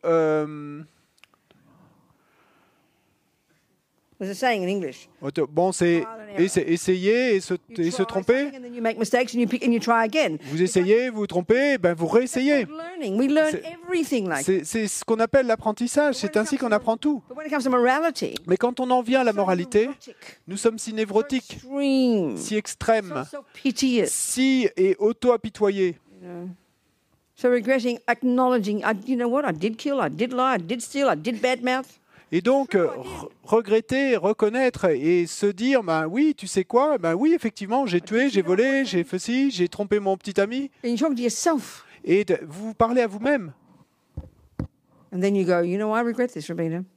There's a saying in English. bon, c'est essayer et se You try tromper. something and then you make mistakes and you try again. Vous essayez, vous vous trompez, vous réessayez. It's called learning. We learn C'est- everything like that. C'est ce qu'on appelle l'apprentissage. C'est ainsi qu'on apprend tout. But when it comes to morality, Mais quand on en vient à la so moralité, neurotic, nous sommes si so névrotiques, extreme, si extrêmes, so piteous. si et auto-apitoyés. So regretting, acknowledging, you know what, I did kill, I did lie, I did steal, I did badmouth. Et donc, regretter, reconnaître et se dire, oui, tu sais quoi, oui, effectivement, j'ai tué, j'ai volé, j'ai fait ci, j'ai trompé mon petit ami. And you talk to yourself. Et vous parlez à vous-même. And then you go, you know, I regret this, Rabina.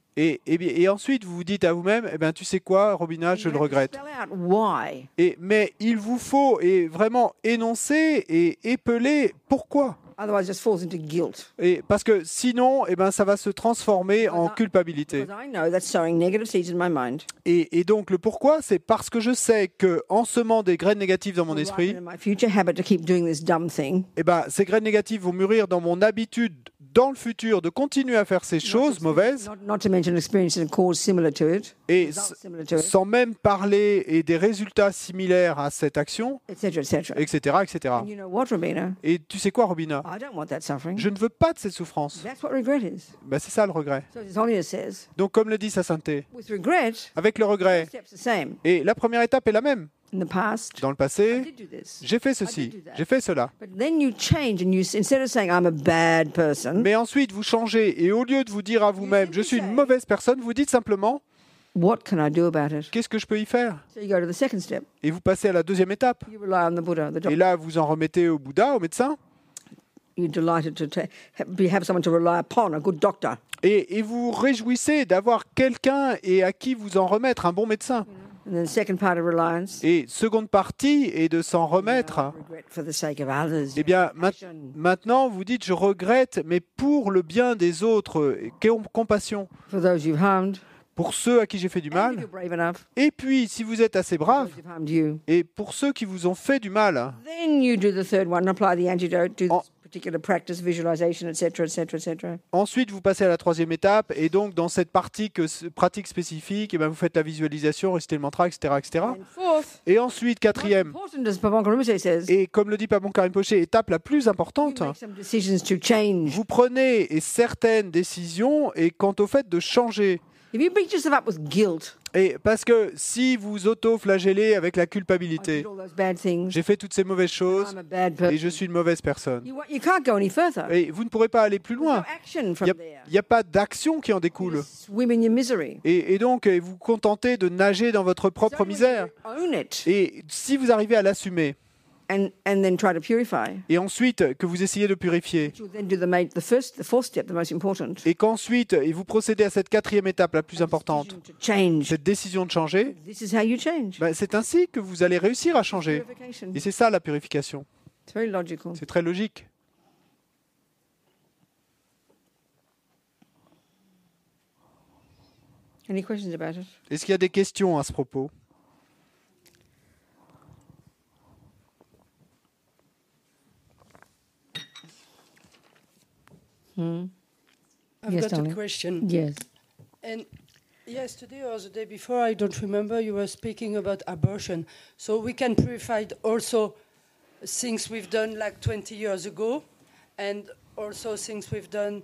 Et ensuite, vous vous dites à vous-même, eh ben, tu sais quoi, Robina, je le regrette. Spell out why. Mais il vous faut vraiment énoncer et épeler pourquoi. Otherwise, it just falls into guilt. Parce que sinon, eh ben, ça va se transformer en culpabilité. Because I know that's sowing negative seeds in my mind. Et donc, le pourquoi, c'est parce que je sais qu'en semant des graines négatives dans mon esprit, In my future habit to keep doing this dumb thing. eh ben, ces graines négatives vont mûrir dans mon habitude dans le futur de continuer à faire ces choses mauvaises, Not to mention experiences and cause similar to it, et results similar to it, sans même parler et des résultats similaires à cette action, etc., etc. etc., etc. And you know what, Robina? Et tu sais quoi, Robina? I don't want that suffering. Je ne veux pas de cette souffrance. That's what regret is. Ben, c'est ça le regret. So His Holiness says, Donc, comme le dit sa sainteté, with regret, avec le regret, the steps the same. et la première étape est la même. In the past, Dans le I passé, did do this. j'ai fait I did ceci, do that. j'ai fait cela. But then you change and you, instead of saying I'm a bad person, Mais ensuite, vous changez, et au lieu de vous dire à vous-même, je suis une mauvaise personne, vous dites simplement, what can I do about it? qu'est-ce que je peux y faire? So you go to the second step. Et vous passez à la deuxième étape. You rely on the Buddha, the Et doctor. là, vous en remettez au Bouddha, au médecin, You're delighted to have someone to rely upon, a good doctor. et vous réjouissez d'avoir quelqu'un et à qui vous en remettre, un bon médecin. And then the second part of reliance, Et seconde partie est de s'en remettre. regret for the sake of others. Eh bien, Passion. maintenant, vous dites, je regrette, mais pour le bien des autres, compassion For those you've harmed, pour ceux à qui j'ai fait du and if mal. you're brave enough, Et puis, si vous êtes assez for brave, those who've harmed you. et pour ceux qui vous ont fait du mal, Then you do the third one, apply the antidote, do En- this particular practice, visualization, etc., etc., etc. ensuite vous passez à la troisième étape, et donc dans cette pratique spécifique, eh ben, vous faites la visualisation, récitez le mantra, etc., etc. And fourth, Et ensuite, most quatrième, important, as Pavanka Rinpoche says, et comme le dit Pabon Karim Poché, étape la plus you importante, make some decisions to change. vous prenez certaines décisions et quant au fait de changer. If you beat yourself up with guilt, Et parce que si vous auto-flagellez avec la I culpabilité, did all those bad things, j'ai fait toutes ces mauvaises choses I'm a bad et person, je suis une mauvaise personne, you can't go any further. et vous ne pourrez pas aller plus There's no loin. action Il from there. n'y a pas d'action qui en You découle. just swim in your misery. Et donc, vous contentez de nager dans votre propre So when misère. you own it Et si vous arrivez à l'assumer, and then try to purify, et ensuite que vous essayez de purifier, you'll then do the fourth step, the most important. et qu'ensuite et vous procédez à cette quatrième étape la plus importante, Decision to change. cette décision de changer, This is how you change. ben, c'est ainsi que vous allez réussir à changer. Purification. Et c'est ça la purification. It's very logical. C'est très logique. Any questions about it? Est-ce qu'il y a des questions à ce propos? I've Yes, got darling. a question. Yes. And yesterday or the day before, I don't remember, you were speaking about abortion. So we can purify also things we've done like 20 years ago and also things we've done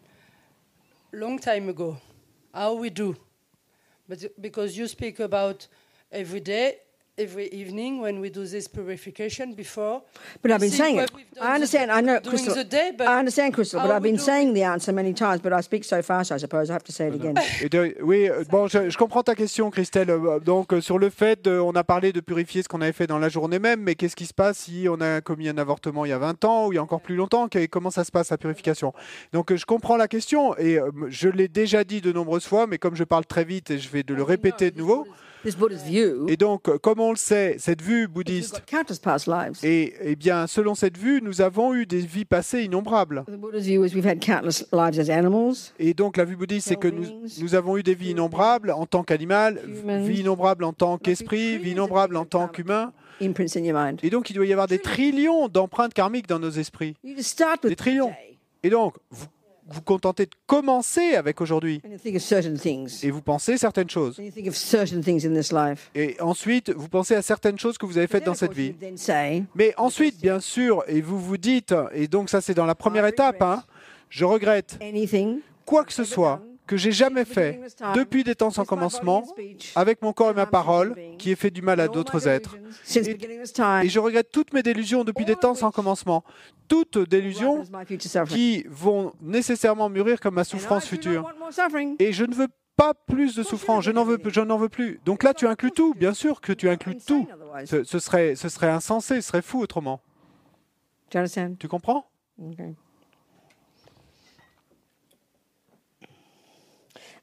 long time ago. How we do? But because you speak about every day, every evening when we do this purification before. But I've we been think saying what it. we've done I understand. I know, during Crystal. the day, but I understand, Crystal. But how I've we been do saying the answer many times. But I speak so fast, I suppose I have to say it again. Oui, bon, je comprends ta question, Christelle. Donc, sur le fait, on a parlé de purifier ce qu'on avait fait dans la journée même, mais qu'est-ce qui se passe si on a commis un avortement il y a 20 ans ou il y a encore plus longtemps? Comment ça se passe, la purification? Donc, je comprends la question et je l'ai déjà dit de nombreuses fois, mais comme je parle très vite, et je vais le répéter de nouveau. This Buddha's view. Et donc, comme on le sait, cette vue We've bouddhiste, got countless past lives. et bien, selon cette vue, nous avons eu des vies passées innombrables. The Buddha's view is we've had countless lives as animals. Et donc, la vue bouddhiste, c'est que nous avons eu des vies innombrables en tant qu'animal, vie innombrable en tant qu'esprit, vie innombrable en tant qu'humain. Imprints in your mind. Et donc, il doit y avoir des trillions d'empreintes karmiques dans nos esprits. You just start with Des trillions. today Et donc, vous contentez de commencer avec aujourd'hui. and you think of certain things. Et vous pensez certaines choses. And you think of certain things in this life. Et ensuite, vous pensez à certaines choses que vous avez faites Then, dans of cette course, you vie. then say, Mais ensuite, bien sûr, et vous vous dites, et donc ça c'est dans la première étape, hein, je regrette anything quoi que ce soit que j'ai jamais fait depuis des temps sans commencement avec mon corps et ma parole qui ait fait du mal à d'autres êtres. since beginning this time, Et je regrette toutes mes délusions depuis des temps sans commencement. Toutes délusions ripen as my future suffering. qui vont nécessairement mûrir comme ma And souffrance I do not future. want more suffering. Et je ne veux pas plus de souffrance, je n'en veux plus. Donc là, tu inclus tout, bien sûr que tu inclus tout. Insane otherwise. Ce serait insensé, ce serait fou autrement. Do you understand? Tu comprends? Okay.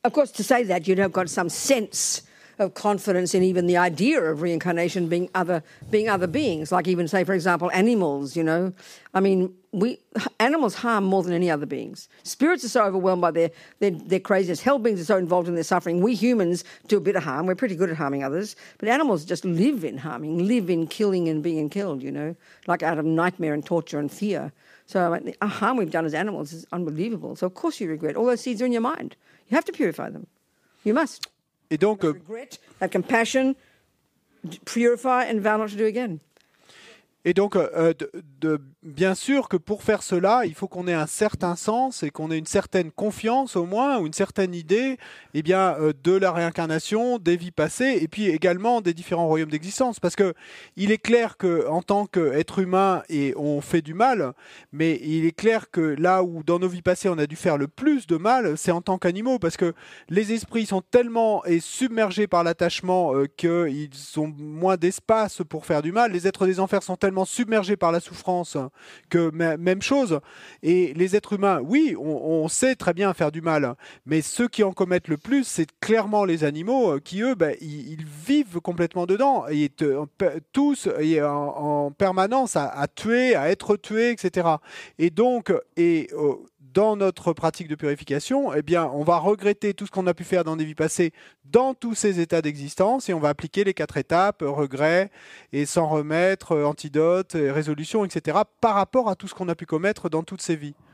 Of course, to say that, you'd have got some sense of confidence in even the idea of reincarnation being other beings, like even, say, for example, animals, you know. I mean, animals harm more than any other beings. Spirits are so overwhelmed by their craziness. Hell beings are so involved in their suffering. We humans do a bit of harm. We're pretty good at harming others. But animals just live in harming, live in killing and being killed, you know, like out of nightmare and torture and fear. So the harm we've done as animals is unbelievable. So of course you regret. All those seeds are in your mind. You have to purify them. You must. Et donc, regret, have compassion, purify and vow not to do again. Et donc, bien sûr que pour faire cela, il faut qu'on ait un certain sens et qu'on ait une certaine confiance au moins, ou une certaine idée de la réincarnation, des vies passées, et puis également des différents royaumes d'existence. Parce que il est clair qu'en tant qu'être humain, on fait du mal, mais il est clair que là où dans nos vies passées on a dû faire le plus de mal, c'est en tant qu'animaux, parce que les esprits sont tellement submergés par l'attachement qu'ils ont moins d'espace pour faire du mal. Les êtres des enfers sont tellement submergés par la souffrance que même chose. Et les êtres humains, oui, on sait très bien faire du mal, mais ceux qui en commettent le plus, c'est clairement les animaux qui, eux, ils vivent complètement dedans, et tous en permanence à tuer, à être tués, etc. Et donc, dans notre pratique de purification, on va regretter tout ce qu'on a pu faire dans des vies passées dans tous ces états d'existence, et on va appliquer les 4 étapes, regret, et s'en remettre, antidote, résolution, etc., par rapport à tout ce qu'on a pu commettre dans toutes ces vies.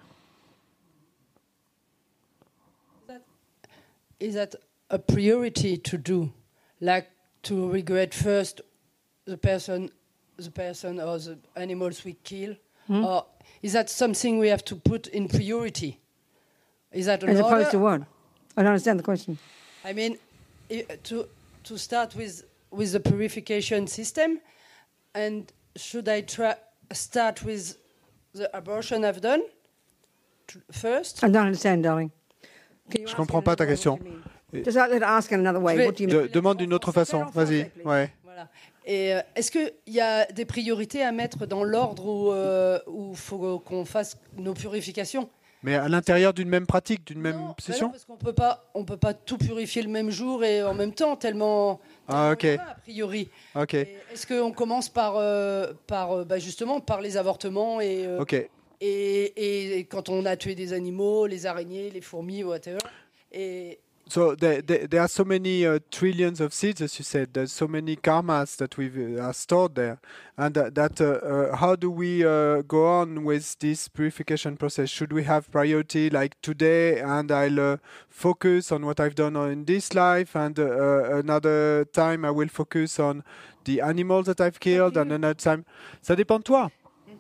Is that a priority to do, like to regret first the person or the animals we kill, or is that something we have to put in priority? Is that an As opposed order? to what? I don't understand the question. I mean, to start with the purification system, and should I start with the abortion I've done first? I don't understand, darling. Can you Je ask comprends in pas ta another way question. what you mean? Just let her ask in another way. What do you mean? Demande d'une autre façon. Vas-y. Ouais. Voilà. Et est-ce qu'il y a des priorités à mettre dans l'ordre où il faut qu'on fasse nos purifications? Mais à l'intérieur d'une même pratique, d'une même Non, session? parce qu'on peut pas tout purifier le même jour et en même temps, tellement Ah, ok. il y en a, a priori. Ok. Et est-ce qu'on commence par justement par les avortements Ok. et quand on a tué des animaux, les araignées, les fourmis, whatever. Et So there are so many trillions of seeds, as you said. There's so many karmas that we've stored there, and how do we go on with this purification process? Should we have priority like today, and I'll focus on what I've done in this life, and another time I will focus on the animals that I've killed, and another time. Ça dépend de toi.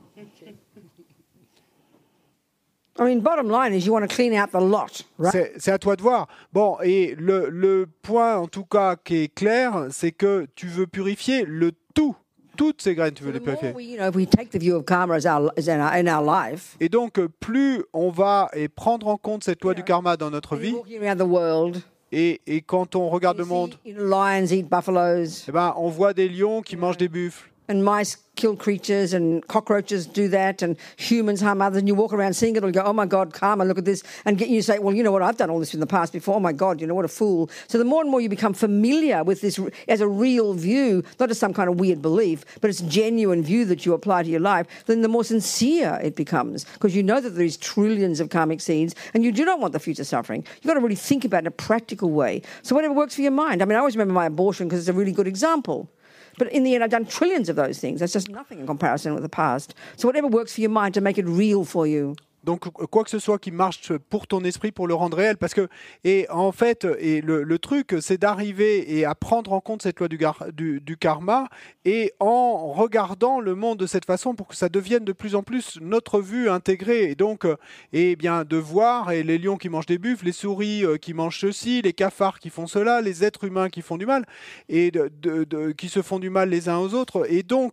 I mean, bottom line is you want to clean out the lot, right? C'est à toi de voir. Bon, et le point, en tout cas, qui est clair, c'est que tu veux purifier le tout. Toutes ces graines, tu veux les The more purifier. if we take the view of karma as in our life, Et donc, plus on va prendre en compte cette loi du karma dans notre vie, walking around the world, et quand on regarde le monde, lions eat buffaloes, on voit des lions qui mangent des buffles. and mice kill creatures, and cockroaches do that, and humans harm others, and you walk around seeing it all, you go, oh my God, karma, look at this, and you say, well, you know what, I've done all this in the past before, oh my God, you know, what a fool. So the more and more you become familiar with this as a real view, not as some kind of weird belief, but it's a genuine view that you apply to your life, then the more sincere it becomes, because you know that there is trillions of karmic seeds, and you do not want the future suffering. You've got to really think about it in a practical way. So whatever works for your mind. I mean, I always remember my abortion because it's a really good example. But in the end, I've done trillions of those things. That's just nothing in comparison with the past. So whatever works for your mind to make it real for you. Donc, quoi que ce soit qui marche pour ton esprit, pour le rendre réel, parce que, en fait, le truc, c'est d'arriver et à prendre en compte cette loi du karma, et en regardant le monde de cette façon pour que ça devienne de plus en plus notre vue intégrée. Et donc, de voir les lions qui mangent des buffles, les souris qui mangent ceci, les cafards qui font cela, les êtres humains qui font du mal, et qui se font du mal les uns aux autres. Et donc,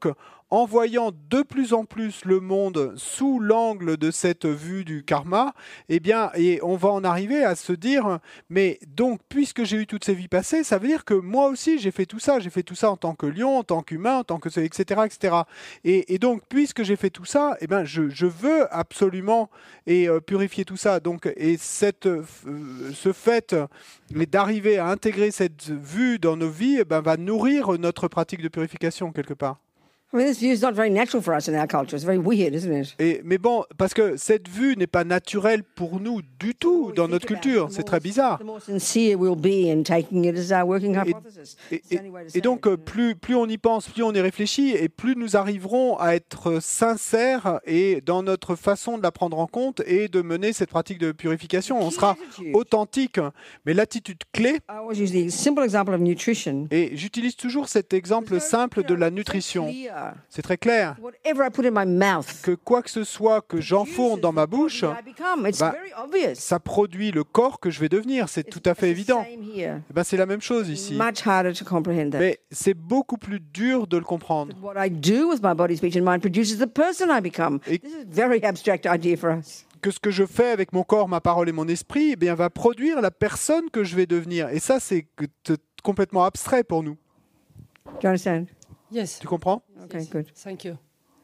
en voyant de plus en plus le monde sous l'angle de cette vue du karma, eh bien, et on va en arriver à se dire, mais donc, puisque j'ai eu toutes ces vies passées, ça veut dire que moi aussi, j'ai fait tout ça en tant que lion, en tant qu'humain, en tant que etc., etc. Et donc, puisque j'ai fait tout ça, eh ben, je veux absolument purifier tout ça. Donc, et ce fait d'arriver à intégrer cette vue dans nos vies, eh ben, va nourrir notre pratique de purification quelque part. I mean, this view is not very natural for us in our culture. It's very weird, isn't it? Mais bon, parce que cette vue n'est pas naturelle pour nous du tout dans notre culture. C'est très bizarre. The more sincere we'll be in taking it as our working hypothesis. It's the only way to say Et donc, it. plus on y pense, plus on y réfléchit, et plus nous arriverons à être sincères et dans notre façon de la prendre en compte et de mener cette pratique de purification. On sera authentique. Mais l'attitude clé, I always use the simple example of nutrition. et j'utilise toujours cet exemple simple de la nutrition. C'est très clair Whatever I put in my mouth, que quoi que ce soit que j'enfourne dans ma bouche, I become. It's bah, very obvious. ça produit le corps que je vais devenir. C'est tout à fait évident. Same here. Eh ben, c'est la même chose ici. Much harder to comprehend that. Mais c'est beaucoup plus dur de le comprendre. What I do with my body, speech, and mind produces the person I become. Et- This is a very abstract idea for us. Que ce que je fais avec mon corps, ma parole et mon esprit, eh bien, va produire la personne que je vais devenir. Et ça, c'est complètement abstrait pour nous. Do you understand? Yes. Tu comprends? Okay, Yes. good. Thank you.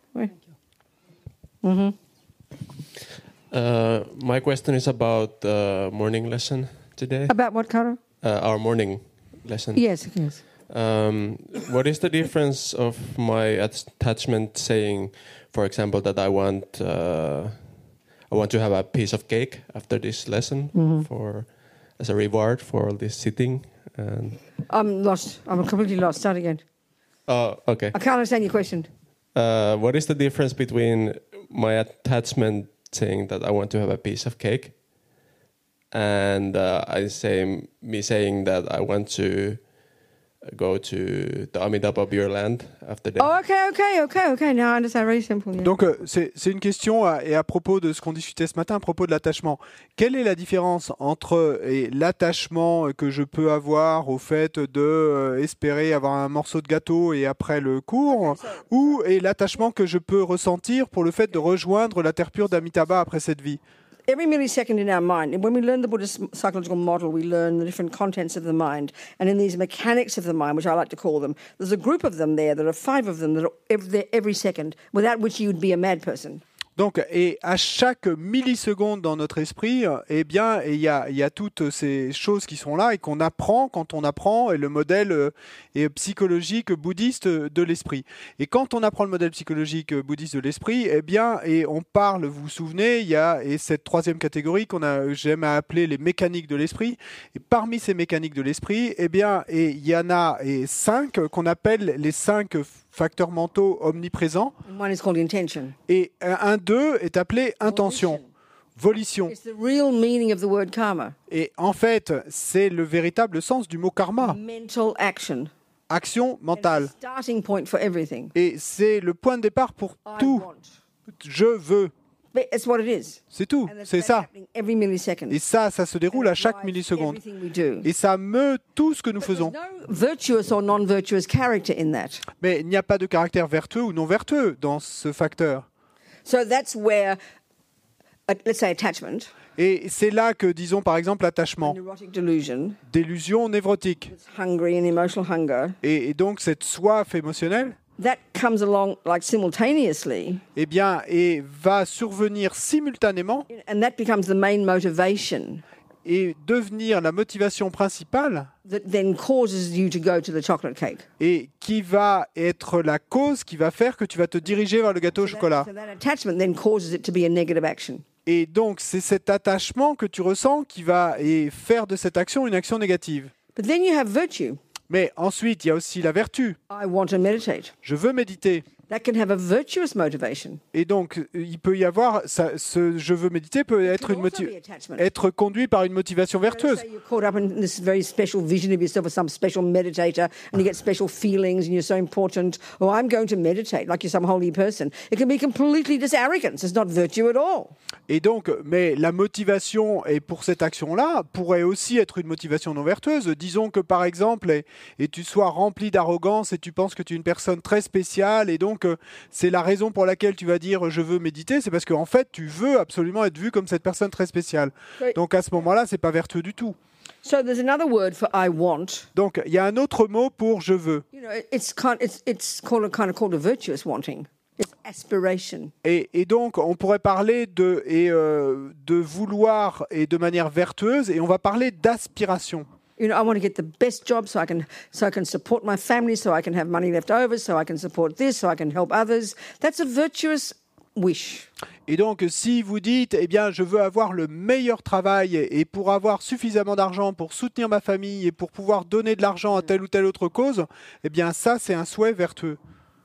My question is about morning lesson today. About what, Cara? Our morning lesson. Yes, yes. What is the difference of my attachment saying, for example, that I want to have a piece of cake after this lesson for as a reward for all this sitting? And I'm lost. I'm completely lost. Start again. oh, okay. I can't understand your question. What is the difference between my attachment saying that I want to have a piece of cake and me saying that I want to go to the Amitabha Beer Land after that? Oh, okay. Now I understand. Very simple. Yeah. Donc, c'est une question et à propos de ce qu'on discutait ce matin, à propos de l'attachement. Quelle est la différence entre l'attachement que je peux avoir au fait de espérer avoir un morceau de gâteau et après le cours, et l'attachement que je peux ressentir pour le fait de rejoindre la terre pure d'Amitabha après cette vie? Every millisecond in our mind, and when we learn the Buddhist psychological model, we learn the different contents of the mind. And in these mechanics of the mind, which I like to call them, there's a group of them there, there are 5 of them that are there every second, without which you would be a mad person. Donc, et à chaque milliseconde dans notre esprit, eh bien, il y a toutes ces choses qui sont là et qu'on apprend quand on apprend le modèle psychologique bouddhiste de l'esprit. Et quand on apprend le modèle psychologique bouddhiste de l'esprit, eh bien, et on parle, vous vous souvenez, il y a cette troisième catégorie j'aime à appeler les mécaniques de l'esprit. Et parmi ces mécaniques de l'esprit, eh bien, et il y en a 5 qu'on appelle les 5 facteurs mentaux omniprésents. And one is called intention. Et un d'eux est appelé intention, volition. It's the real meaning of the word karma. Et en fait, c'est le véritable sens du mot karma, Mental action. action mentale. It's the starting point for everything. Et c'est le point de départ pour I tout. want. Je veux, But it's what it is. c'est tout, And c'est that's ça. happening every millisecond. Et ça se déroule à chaque Drives milliseconde. everything we do. Et ça meut tout ce que nous faisons. There's no virtuous or non-virtuous character in that. Mais il n'y a pas de caractère vertueux ou non vertueux dans ce facteur. So that's where, let's say, attachment, Et c'est là que, disons par exemple, l'attachement, neurotic delusion, d'illusion névrotique, hungry and emotional hunger, et donc cette soif émotionnelle, that comes along like simultaneously, eh bien, et va survenir simultanément and that becomes the main motivation et devenir la motivation principale that then causes you to go to the chocolate cake. et qui va être la cause qui va faire que tu vas te diriger vers le gâteau au chocolat. So that attachment then causes it to be a negative action. Et donc, c'est cet attachement que tu ressens qui va faire de cette action une action négative. But then you have virtue. Mais ensuite, il y a aussi la vertu. I want to meditate. Je veux méditer. That can have a virtuous motivation. Et donc, il peut y avoir, ce je veux méditer peut être, It can also be attachment. être conduit par une motivation vertueuse. Say you're caught up in this very special vision of yourself as some special meditator and you get special feelings and you're so important. Oh, I'm going to meditate like you're some holy person. It can be completely just arrogance. It's not virtue at all. Et donc, mais la motivation et pour cette action-là pourrait aussi être une motivation non vertueuse. Disons que par exemple, et tu sois rempli d'arrogance et tu penses que tu es une personne très spéciale et donc donc c'est la raison pour laquelle tu vas dire je veux méditer, c'est parce qu'en fait tu veux absolument être vu comme cette personne très spéciale. Oui. Donc à ce moment-là, c'est pas vertueux du tout. So there's another word for I want. Donc il y a un autre mot pour je veux. You know, it's called a virtuous wanting. It's aspiration. Et donc on pourrait parler de vouloir et de manière vertueuse, et on va parler d'aspiration. You know, I want to get the best job so I can support my family, so I can have money left over, so I can support this, so I can help others. That's a virtuous wish. Et donc, si vous dites, eh bien, je veux avoir le meilleur travail et pour avoir suffisamment d'argent pour soutenir ma famille et pour pouvoir donner de l'argent à telle ou telle autre cause, eh bien, ça, c'est un souhait vertueux.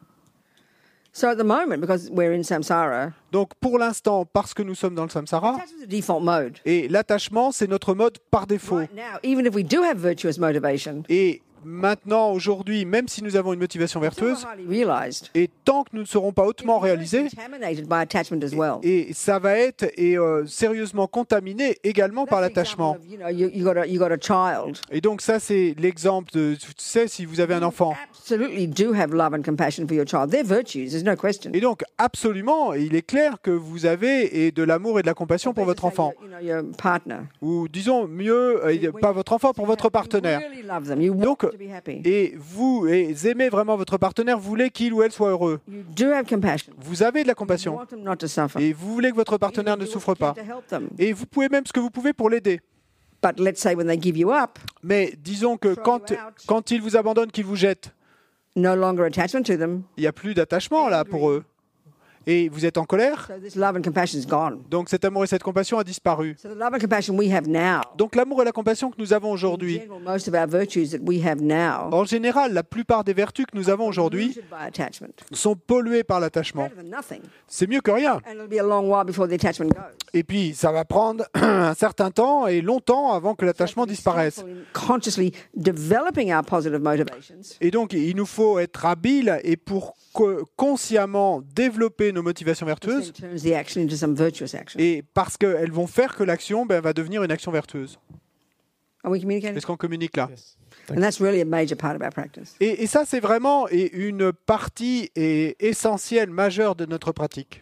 So at the moment, because we're in samsara, Donc, pour l'instant, parce que nous sommes dans le samsara, attachment is a default mode. et l'attachement, c'est notre mode par défaut. Right now, even if we do have virtuous motivation, Et maintenant, aujourd'hui, même si nous avons une motivation it's vertueuse, not highly realized. et tant que nous ne serons pas hautement réalisés, Contaminated by attachment as well. et ça va être sérieusement contaminé également par That's the l'attachement. example of, you know, you got a child. Et donc ça, c'est l'exemple de, tu sais, si vous avez un enfant. Absolutely do have love and compassion for your child. They're virtues, there's no question. Et donc, absolument, il est clair que vous avez de l'amour et de la compassion pour votre enfant. You know, your partner. Ou disons mieux, pas votre enfant, pour votre partenaire. You really love them. You want Donc, them to be happy. et vous aimez vraiment votre partenaire, vous voulez qu'il ou elle soit heureux. You do have compassion. Vous avez de la You compassion. want them not to suffer. Et vous voulez que votre partenaire ne You do souffre what you pas. can to help them. Et vous pouvez même ce que vous pouvez pour l'aider. But let's say when they give you up, Mais disons que Throw you out. quand ils vous abandonnent, qu'ils vous jettent, no longer attachment to them. il n'y a plus d'attachement là pour eux. Et vous êtes en colère, So this love and compassion is gone. donc cet amour et cette compassion a disparu. So the love and compassion we have now, Donc l'amour et la compassion que nous avons in aujourd'hui, general, most of our virtues that we have now, en général, la plupart des vertus que nous avons aujourd'hui polluted by attachment. sont polluées par l'attachement. Better than nothing. C'est mieux que rien. And it'll be a long while before the attachment goes. Et puis, ça va prendre un certain temps et longtemps avant que l'attachement To be disparaisse. skillful in consciously developing our positive motivations. Et donc, il nous faut être habile et pour consciemment développer nos motivations vertueuses, Then turns the action into some virtuous action. et parce qu'elles vont faire que l'action va devenir une action vertueuse. Are we communicating? Est-ce qu'on communique là? Yes. And that's really a major part of our practice. Et ça, c'est vraiment une partie essentielle, majeure de notre pratique.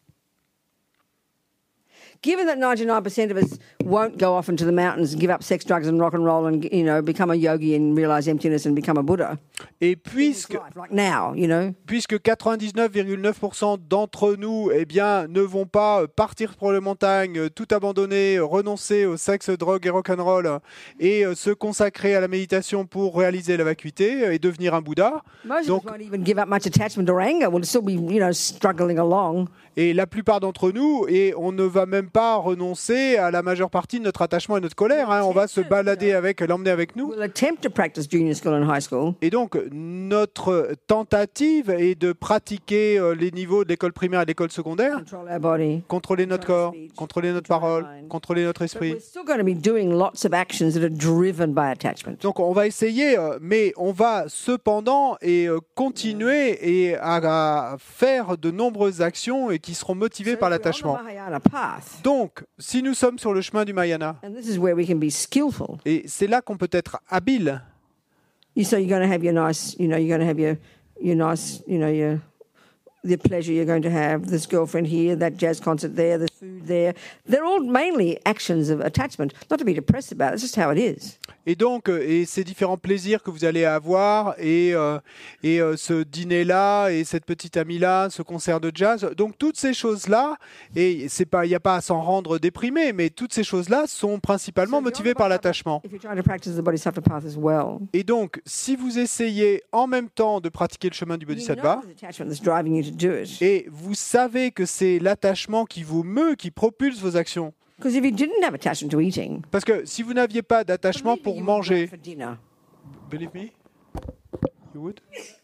Given that 99% of us won't go off into the mountains and give up sex, drugs, and rock and roll, and become a yogi and realize emptiness and become a Buddha, Et in this puisque life, like now, you know, puisque 99,9% d'entre nous ne vont pas partir pour les montagnes, tout abandonner, renoncer au sexe, drogue et rock'n'roll et se consacrer à la méditation pour réaliser la vacuité et devenir un Bouddha. most Donc- of us won't even give up much attachment or anger. We'll still be, struggling along. Et la plupart d'entre nous, et on ne va même pas renoncer à la majeure partie de notre attachement et notre colère. On va se balader avec, l'emmener avec nous. We'll attempt to practice junior school and high school. Et donc, notre tentative est de pratiquer les niveaux de l'école primaire et de l'école secondaire, Control our body. contrôler notre corps, contrôler notre parole, contrôler notre But esprit. we're still going to be doing lots of actions that are driven by attachment. Donc on va essayer, mais on va cependant continuer à faire de nombreuses actions et qui seront motivées So par if we're on the l'attachement. Mahayana path, Donc, si nous sommes sur le chemin du Mahayana, and this is where we can be skillful. et c'est là qu'on peut être habile, So you're going to have your nice, you're going to have your nice, the pleasure you're going to have, this girlfriend here, that jazz concert there, the food there. They're all mainly actions of attachment. Not to be depressed about it, it's just how it is. et donc et ces différents plaisirs que vous allez avoir, et ce dîner-là, et cette petite amie-là, ce concert de jazz, donc toutes ces choses-là, et il n'y a pas à s'en rendre déprimé, mais toutes ces choses-là sont principalement motivées par l'attachement. If you're trying to practice the Bodhisattva path as well, Et donc, si vous essayez en même temps de pratiquer le chemin du you know Bodhisattva, there's attachment that's driving you to do it. et vous savez que c'est l'attachement qui vous meut, qui propulse vos actions. Because if you didn't have attachment to eating, Parce que si vous n'aviez pas d'attachement believe me, pour you would go manger, for dinner. believe me, you would?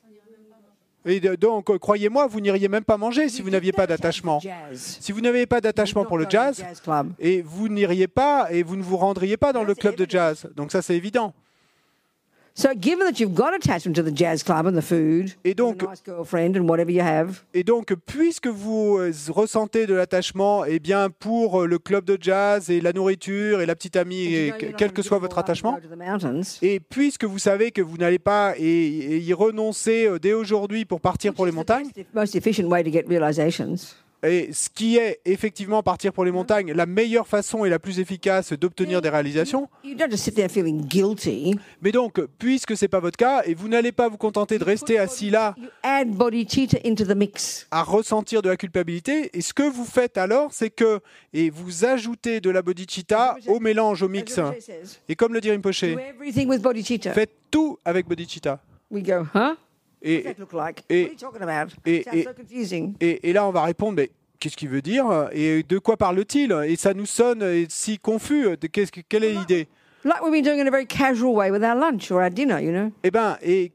Et donc, croyez-moi, vous n'iriez même pas manger si vous n'aviez pas d'attachement. Jazz. Si vous n'avez pas d'attachement pour le jazz, Club. et vous n'iriez pas, et vous ne vous rendriez pas dans le club de jazz. Donc ça, c'est évident. So, given that you've got attachment to the jazz club and the food, Et donc, and a nice girlfriend and whatever you have, puisque vous ressentez de l'attachement, eh bien, pour le club de jazz et la nourriture et la petite amie, and you et know you're not quel gonna que give soit it votre all up and attachement, go to the mountains, et puisque vous savez que vous n'allez pas y renoncer dès aujourd'hui pour partir pour les montagnes, most efficient way to get realizations. et ce qui est effectivement partir pour les montagnes, la meilleure façon et la plus efficace d'obtenir des réalisations. You don't just sit there feeling guilty. Mais donc, puisque ce n'est pas votre cas, et vous n'allez pas vous contenter de rester assis là You add bodhicitta into the mix. à ressentir de la culpabilité, et ce que vous faites alors, c'est que vous ajoutez de la bodhicitta au mélange, au mix. As Rinpoche says, Et comme le dit Rinpoche, do everything with bodhicitta. faites tout avec bodhicitta. We go, huh? What does Et, that look like? et- What are you talking about? et- Sounds et- so confusing. et là, on va répondre, mais qu'est-ce qu'il veut dire? Et de quoi parle-t-il? Et ça nous sonne si confus. Quelle est l'idée? Like we've been doing in a very casual way with our lunch or our dinner, you know. Eh bien, et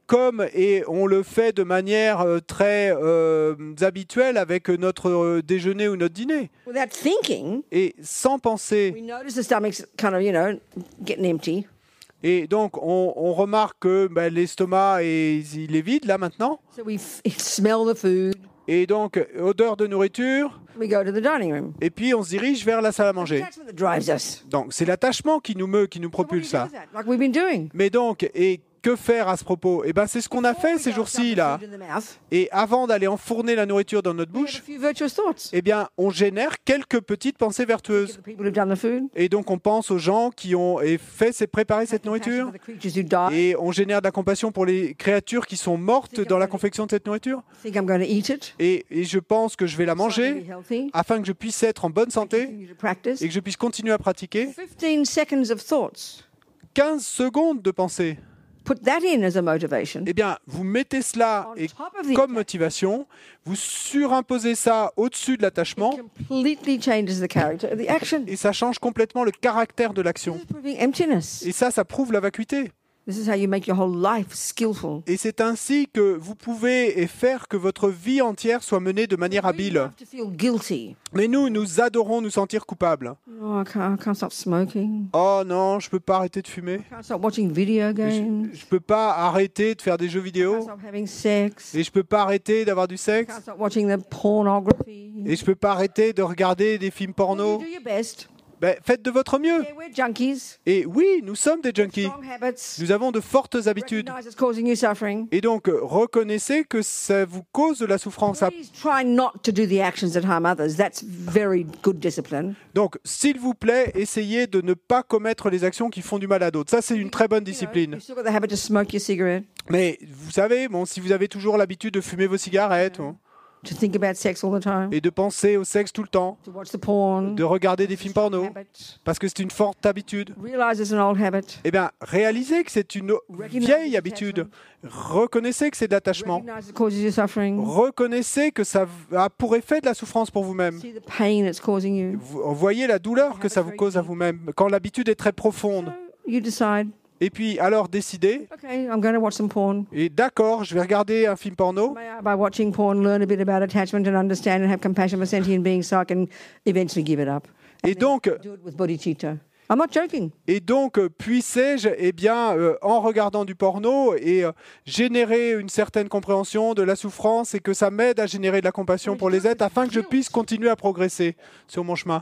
on le fait de manière très habituelle avec notre déjeuner ou notre dîner. Without thinking, Et sans penser. we notice the stomach's kind of, you know, getting empty. Et donc, on remarque que l'estomac, il est vide là maintenant. So we smell the food. Et donc, odeur de nourriture. We go to the dining room. Et puis, on se dirige vers la salle à manger. That's what that drives us. Donc, c'est l'attachement qui nous meut, qui nous So what do you propulse do là. with that? Like we've been doing. Mais donc, et que faire à ce propos? Eh ben, c'est ce qu'on a fait ces jours-ci là. Et avant d'aller enfourner la nourriture dans notre We have bouche, a few virtuous thoughts. eh bien, on génère quelques petites pensées vertueuses. The people who've done the food. Et donc, on pense aux gens qui ont préparé cette nourriture. For the creatures who died. Et on génère de la compassion pour les créatures qui sont mortes dans la confection de cette nourriture. Think I'm going to eat it. Et je pense que je vais la So I can manger be healthy. afin que je puisse être en bonne santé Continue to practice. et que je puisse continuer à pratiquer. 15 seconds of thoughts. 15 secondes de pensée. Put that in as a motivation. Eh bien, vous mettez cela On et top of the comme motivation, vous surimposez ça au-dessus de l'attachement completely changes the character of the action. et ça change complètement le caractère de This l'action. is proving emptiness. Et ça prouve la vacuité. This is how you make your whole life skillful. Et c'est ainsi que vous pouvez faire que votre vie entière soit menée de manière We habile. love to feel guilty. Mais nous adorons nous sentir coupables. Oh, I can't stop smoking. Oh non, je peux pas arrêter de fumer. I can't stop watching video games. Je peux pas arrêter de faire des jeux I can't vidéo. stop having sex. Et je peux pas arrêter d'avoir du I sexe. can't stop watching the pornography. Et je peux pas arrêter de regarder des films Well, porno. you do your best. Faites de votre mieux. Yeah, we're junkies. Et oui, nous sommes des junkies. Strong habits. Nous avons de fortes habitudes. Recognize it's causing you suffering. Et donc, reconnaissez que ça vous cause de la souffrance. Please try not to do the actions that harm others. That's very good discipline. Donc, s'il vous plaît, essayez de ne pas commettre les actions qui font du mal à d'autres. Ça, c'est une très bonne discipline. You've still got the habit to smoke your cigarette, Mais vous savez, bon, si vous avez toujours l'habitude de fumer vos cigarettes to think about sex all the time, et de penser au sexe tout le temps, to watch the porn. de regarder des films porno, Habit. parce que c'est une forte habitude, Realize it's an old habit. eh bien, réalisez que c'est une vieille habitude. Reconnaissez que c'est de l'attachement. Recognize it causes you suffering. Reconnaissez que ça a pour effet de la souffrance pour vous-même. See the pain it's causing you. Vous voyez la douleur que ça vous cause à vous-même quand l'habitude est très profonde. So you decide, Et puis, alors, décidez. okay, I'm going to watch some porn. Et d'accord, je vais regarder un film porno. May I, by watching porn, learn a bit about attachment and understand and have compassion for sentient beings so I can eventually give it up. Et donc, Do it with bodhicitta. I'm not joking. puissais-je, eh bien, en regardant du porno et générer une certaine compréhension de la souffrance et que ça m'aide à générer de la compassion pour les êtres afin que je puisse continuer à progresser sur mon chemin.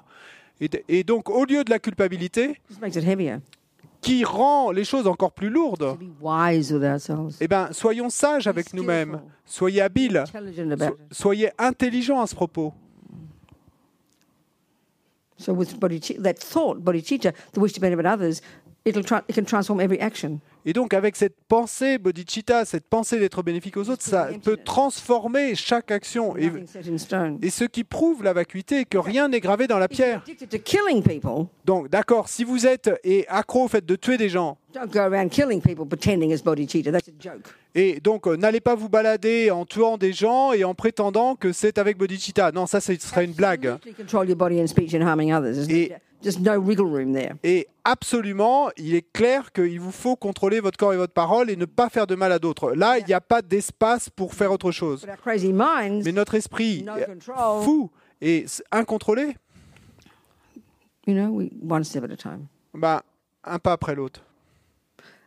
Et donc, au lieu de la culpabilité, This makes it heavier. qui rend les choses encore plus lourdes, To be wise with ourselves. eh bien, soyons sages avec nous-mêmes, soyez habiles, Intelligent about it. soyez intelligents à ce propos. So with bodhicitta, that thought, bodhicitta, the wish to benefit others, it can transform every action. Et donc, avec cette pensée bodhicitta, cette pensée d'être bénéfique aux autres, ça peut transformer chaque action. Nothing set in stone. Et ce qui prouve la vacuité, que rien n'est gravé dans la If you're pierre. addicted to killing people, Donc, d'accord, si vous êtes accro au fait de tuer des gens, don't go around killing people pretending it's bodhicitta. That's a joke. et donc n'allez pas vous balader en tuant des gens et en prétendant que c'est avec bodhicitta. Non, ça, ce serait une blague. Absolutely control your body and speech and harming others. Et- Just no wriggle room there. Et absolument, il est clair qu'il vous faut contrôler votre corps et votre parole et ne pas faire de mal à d'autres. Là, il n'y a pas d'espace pour faire autre chose. But our crazy minds, Mais notre esprit no control. fou et incontrôlé, you know, one step at a time. ben, un pas après l'autre.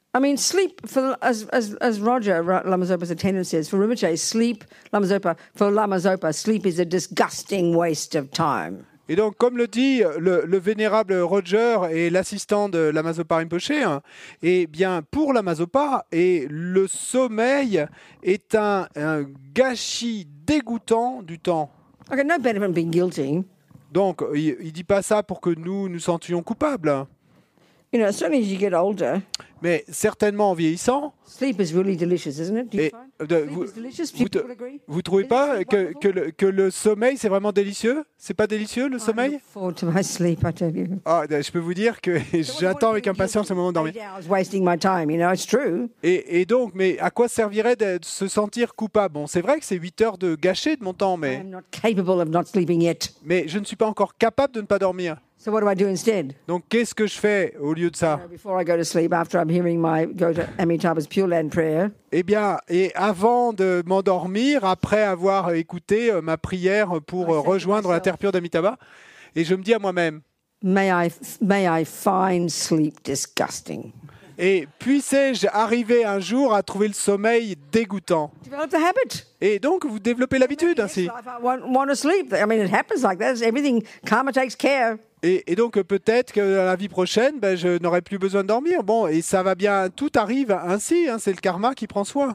I mean, sleep, as Roger Lama-Zopa's attendant says, for Rinpoche, sleep is a disgusting waste of time. Et donc, comme le dit le vénérable Roger et l'assistant de Lama Zopa Rinpoche, hein, eh bien, pour Lama Zopa, le sommeil est un gâchis dégoûtant du temps. Okay, no benefit from being guilty. Donc, il ne dit pas ça pour que nous sentions coupables. You know, certainly as you get older, Mais certainement en vieillissant, sleep is really delicious, isn't it? Do you et, find? de- Sleep vous, is delicious. vous, People agree? vous trouvez Isn't pas sleep que, wonderful? que le sommeil, c'est vraiment délicieux? C'est pas délicieux, le I sommeil? look forward to my sleep, I tell you. Ah, je peux vous dire que j'attends avec impatience le moment de dormir. 8 hours wasting my time, you know, it's true. Et donc, mais à quoi servirait de se sentir coupable? Bon, c'est vrai que c'est 8 heures de gâcher de mon temps, I mais am not capable of not sleeping yet. je ne suis pas encore capable de ne pas dormir. So what do I do instead? Donc, qu'est-ce que je fais au lieu de ça? Before I go to sleep, after I'm hearing go to Amitabha's Pure Land prayer, Eh bien, et avant de m'endormir, après avoir écouté ma prière pour rejoindre la terre pure d'Amitabha, et je me dis à moi-même, may I find sleep disgusting. et puissais-je arriver un jour à trouver le sommeil dégoûtant? Develop the habit. Et donc, vous développez l'habitude ainsi. If I want to sleep, I mean, it happens like that. Everything, karma takes care. Et donc, peut-être que la vie prochaine, je n'aurai plus besoin de dormir. Bon, et ça va bien, tout arrive ainsi, hein, c'est le karma qui prend soin.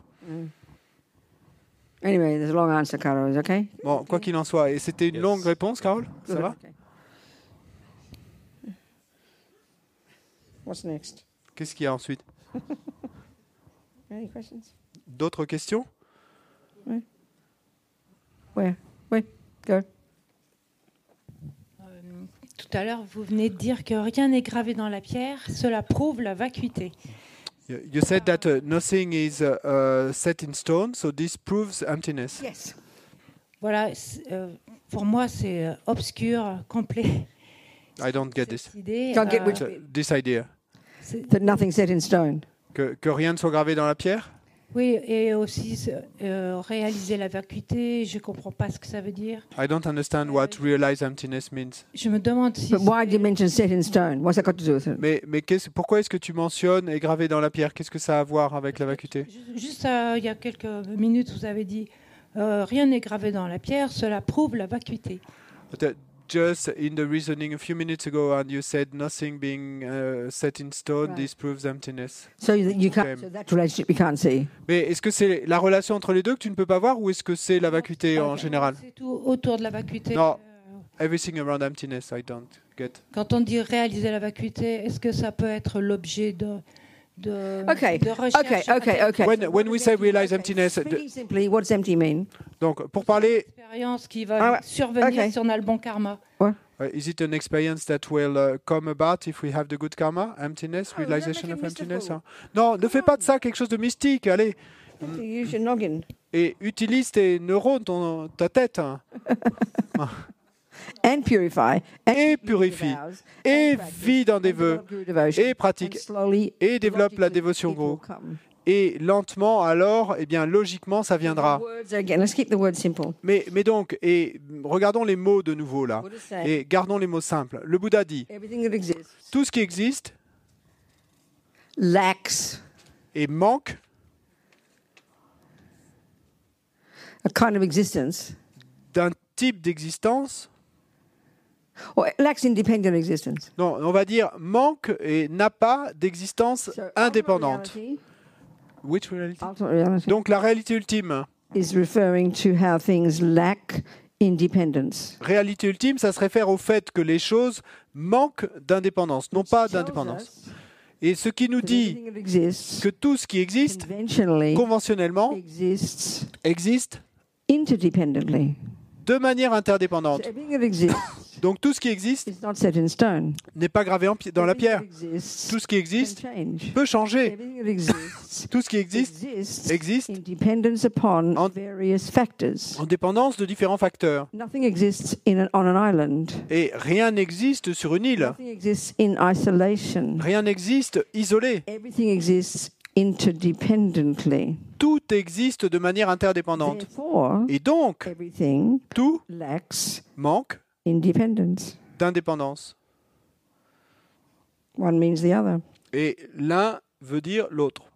Anyway, there's a long answer, Carol, is okay? Bon, quoi qu'il en soit. Et c'était une longue réponse, Carole? Ça Good, va? okay. What's next? Qu'est-ce qu'il y a ensuite? Any questions? D'autres questions? Where? Go. Tout à l'heure, vous venez de dire que rien n'est gravé dans la pierre. Cela prouve la vacuité. You said that nothing is set in stone, so this proves emptiness. Yes. Voilà, pour moi, c'est obscur, complet. I don't get this. Cette idée, Can't get which So, this idea. That nothing's set in stone. Que rien ne soit gravé dans la pierre? oui, et aussi réaliser la vacuité. Je comprends pas ce que ça veut dire. I don't understand what realize emptiness means. Je me demande si. But why do you mention set in stone? What's that got to do with it? Mais pourquoi est-ce que tu mentionnes et gravé dans la pierre? Qu'est-ce que ça a à voir avec la vacuité? Juste il y a quelques minutes, vous avez dit rien n'est gravé dans la pierre. Cela prouve la vacuité. Just in the reasoning a few minutes ago, and you said nothing being set in stone, Right. this proves emptiness. So you can't. Okay. So that relationship you can't see. Mais est-ce que c'est la relation entre les deux que tu ne peux pas voir, ou est-ce que c'est la vacuité en général? C'est tout autour de la vacuité. Non. Everything around emptiness, I don't get. Quand on dit réaliser la vacuité, est-ce que ça peut être l'objet de Okay. recherche Okay. When we say realize emptiness, Speaking simply, what does empty mean? donc pour parler, expérience qui va survenir ok. si on a le bon karma. is it an experience that will come about if we have the good karma? Emptiness, Oh, realization don't of make it emptiness. mystical. Hein? Non, ne fais pas de ça quelque chose de mystique. Allez, You use your noggin. et utilise tes neurones, ta tête, hein, And purify. et purifie, et vis dans des vœux, et pratique, et développe la dévotion gros. Et lentement, alors, eh bien, logiquement, ça viendra. Let's keep the word simple. Mais donc, et regardons les mots de nouveau là, What does it say? et gardons les mots simples. Le Bouddha dit, Everything that exists tout ce qui existe lacks et manque a kind of existence, d'un type d'existence, or lacks independent existence. non, on va dire manque et n'a pas d'existence So indépendante. ultimate reality- Which reality? ultimate reality Donc la réalité ultime. is referring to how things lack independence. Réalité ultime, ça se réfère au fait que les choses manquent d'indépendance, non pas Tells d'indépendance. us Et ce qui nous that dit everything that exists que tout ce qui existe, conventionally conventionnellement, exists existe interdependently. de manière So interdépendante. everything that exists Donc tout ce qui existe is not set in stone. n'est pas gravé dans la Everything pierre. that exists Tout ce qui can existe change. peut changer. Everything that exists Tout ce qui existe existe in dependence upon en- various factors. en dépendance de différents facteurs. Nothing exists on an island. Et rien n'existe sur une île. Nothing exists in isolation. Rien n'existe isolé. Everything exists interdependently. Tout existe de manière interdépendante. Therefore, Et donc, everything tout lacks manque independence. d'indépendance. One means the other. Et l'un veut dire l'autre.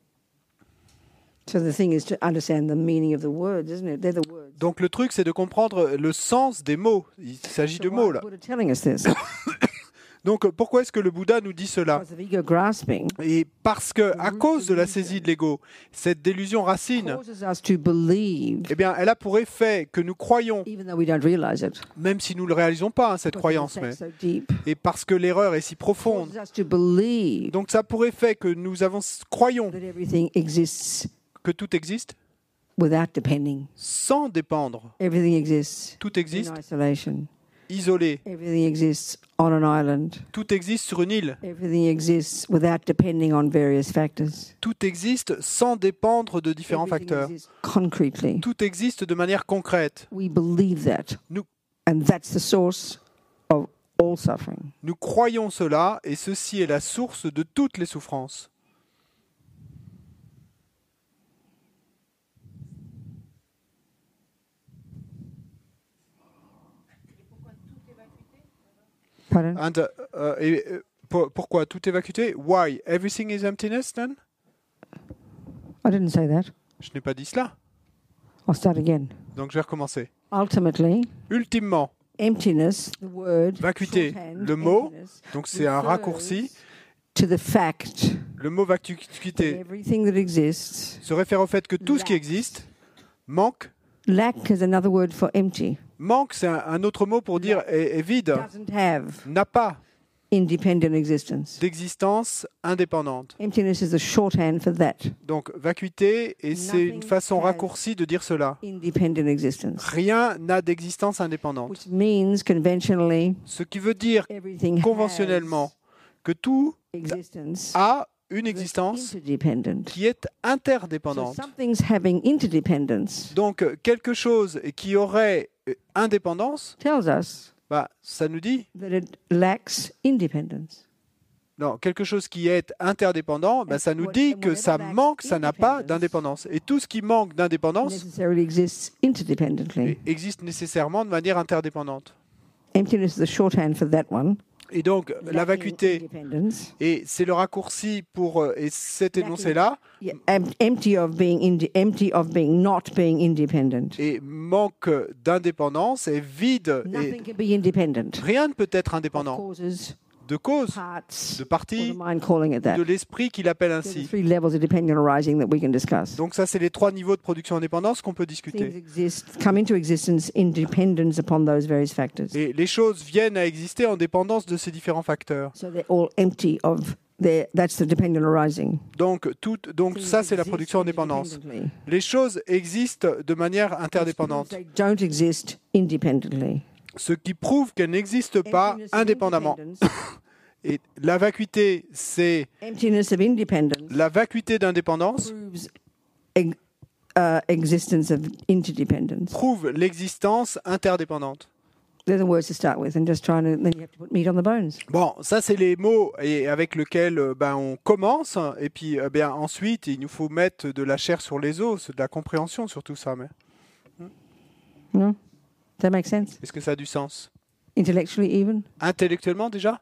So the thing is to understand the meaning of the words, isn't it? They're the words. Donc le truc, c'est de comprendre le sens des mots. Il s'agit So de why mots is là. Buddha telling us this? Donc pourquoi est-ce que le Bouddha nous dit cela? Because of ego grasping Et parce que, à cause de la saisie de l'ego, cette délusion racine, causes us to believe, eh bien, elle a pour effet que nous croyons, even though we don't realize it. même si nous ne le réalisons pas, hein, cette Because croyance, it's mais, so deep. et parce que l'erreur est si profonde. Causes us to believe Donc ça a pour effet que nous croyons that everything exists que tout existe without depending. sans dépendre. Everything exists Tout in existe isolation. isolé. Everything exists on an island. Tout existe sur une île. Everything exists without depending on various factors. Tout existe sans dépendre de différents Everything facteurs. exists concretely. Tout existe de manière concrète. We believe that. Nous- And that's the source of all suffering. Nous croyons cela et ceci est la source de toutes les souffrances. Pardon? And, pourquoi tout est vacuité? Why? Everything is emptiness then? I didn't say that. Je n'ai pas dit cela. I'll start again. Donc je vais recommencer. Ultimately, Ultimement, emptiness, the word, vacuité, shorthand, le mot, emptiness, donc c'est un refers raccourci. to the fact Le mot that vacuité everything that exists, se réfère au fait que tout ce qui existe manque. lack is another word for empty, Manque, c'est un autre mot pour dire est vide, doesn't have n'a pas independent existence. d'existence indépendante. Emptiness is the shorthand for that, Donc vacuité, et c'est une façon raccourcie de dire cela. independent existence. Rien n'a d'existence indépendante. Which means conventionally, Ce qui veut dire everything conventionnellement que tout has existence a une that's existence interdependent. qui est So interdépendante. something's having interdependence Donc quelque chose qui aurait indépendance, tells us bah, ça nous dit, that it lacks independence. non, quelque chose qui est interdépendant, bah, ça nous dit que ça manque, ça n'a pas d'indépendance. Et tout ce qui manque d'indépendance Necessarily exists interdependently. existe nécessairement de manière interdépendante. Emptiness is the shorthand for that one. Et donc la Lacking vacuité, independence. et c'est le raccourci pour et cet énoncé-là, Yeah, empty of being not being independent. et manque d'indépendance, est vide, et Nothing can be independent. rien ne peut être Of indépendant. causes, De cause, parts, de or partie, the mind calling it that. de l'esprit qu'il appelle There are ainsi. three levels of dependent arising that we can discuss. Donc ça, c'est les 3 niveaux de production indépendance qu'on peut Things discuter. exist, come into existence in dependence upon those various factors. Et les choses viennent à exister en dépendance de ces différents facteurs. So they're all empty of their, that's the dependent arising. Donc ça, c'est la Things production exist indépendance. independently. Les choses existent de manière interdépendante, They don't exist independently. ce qui prouve qu'elles n'existent pas Emptiness of indépendamment. independence- Et la vacuité, c'est Emptiness of independence la vacuité d'indépendance, proves existence of interdependence. prouve l'existence interdépendante. They're the words to start with, and just trying to, then you have to put meat on the bones. Bon, ça c'est les mots et avec lesquels on commence, et puis ensuite il nous faut mettre de la chair sur les os, de la compréhension sur tout ça. Mais No? Does that make sense? est-ce que ça a du sens? Intellectually, even? Intellectuellement déjà?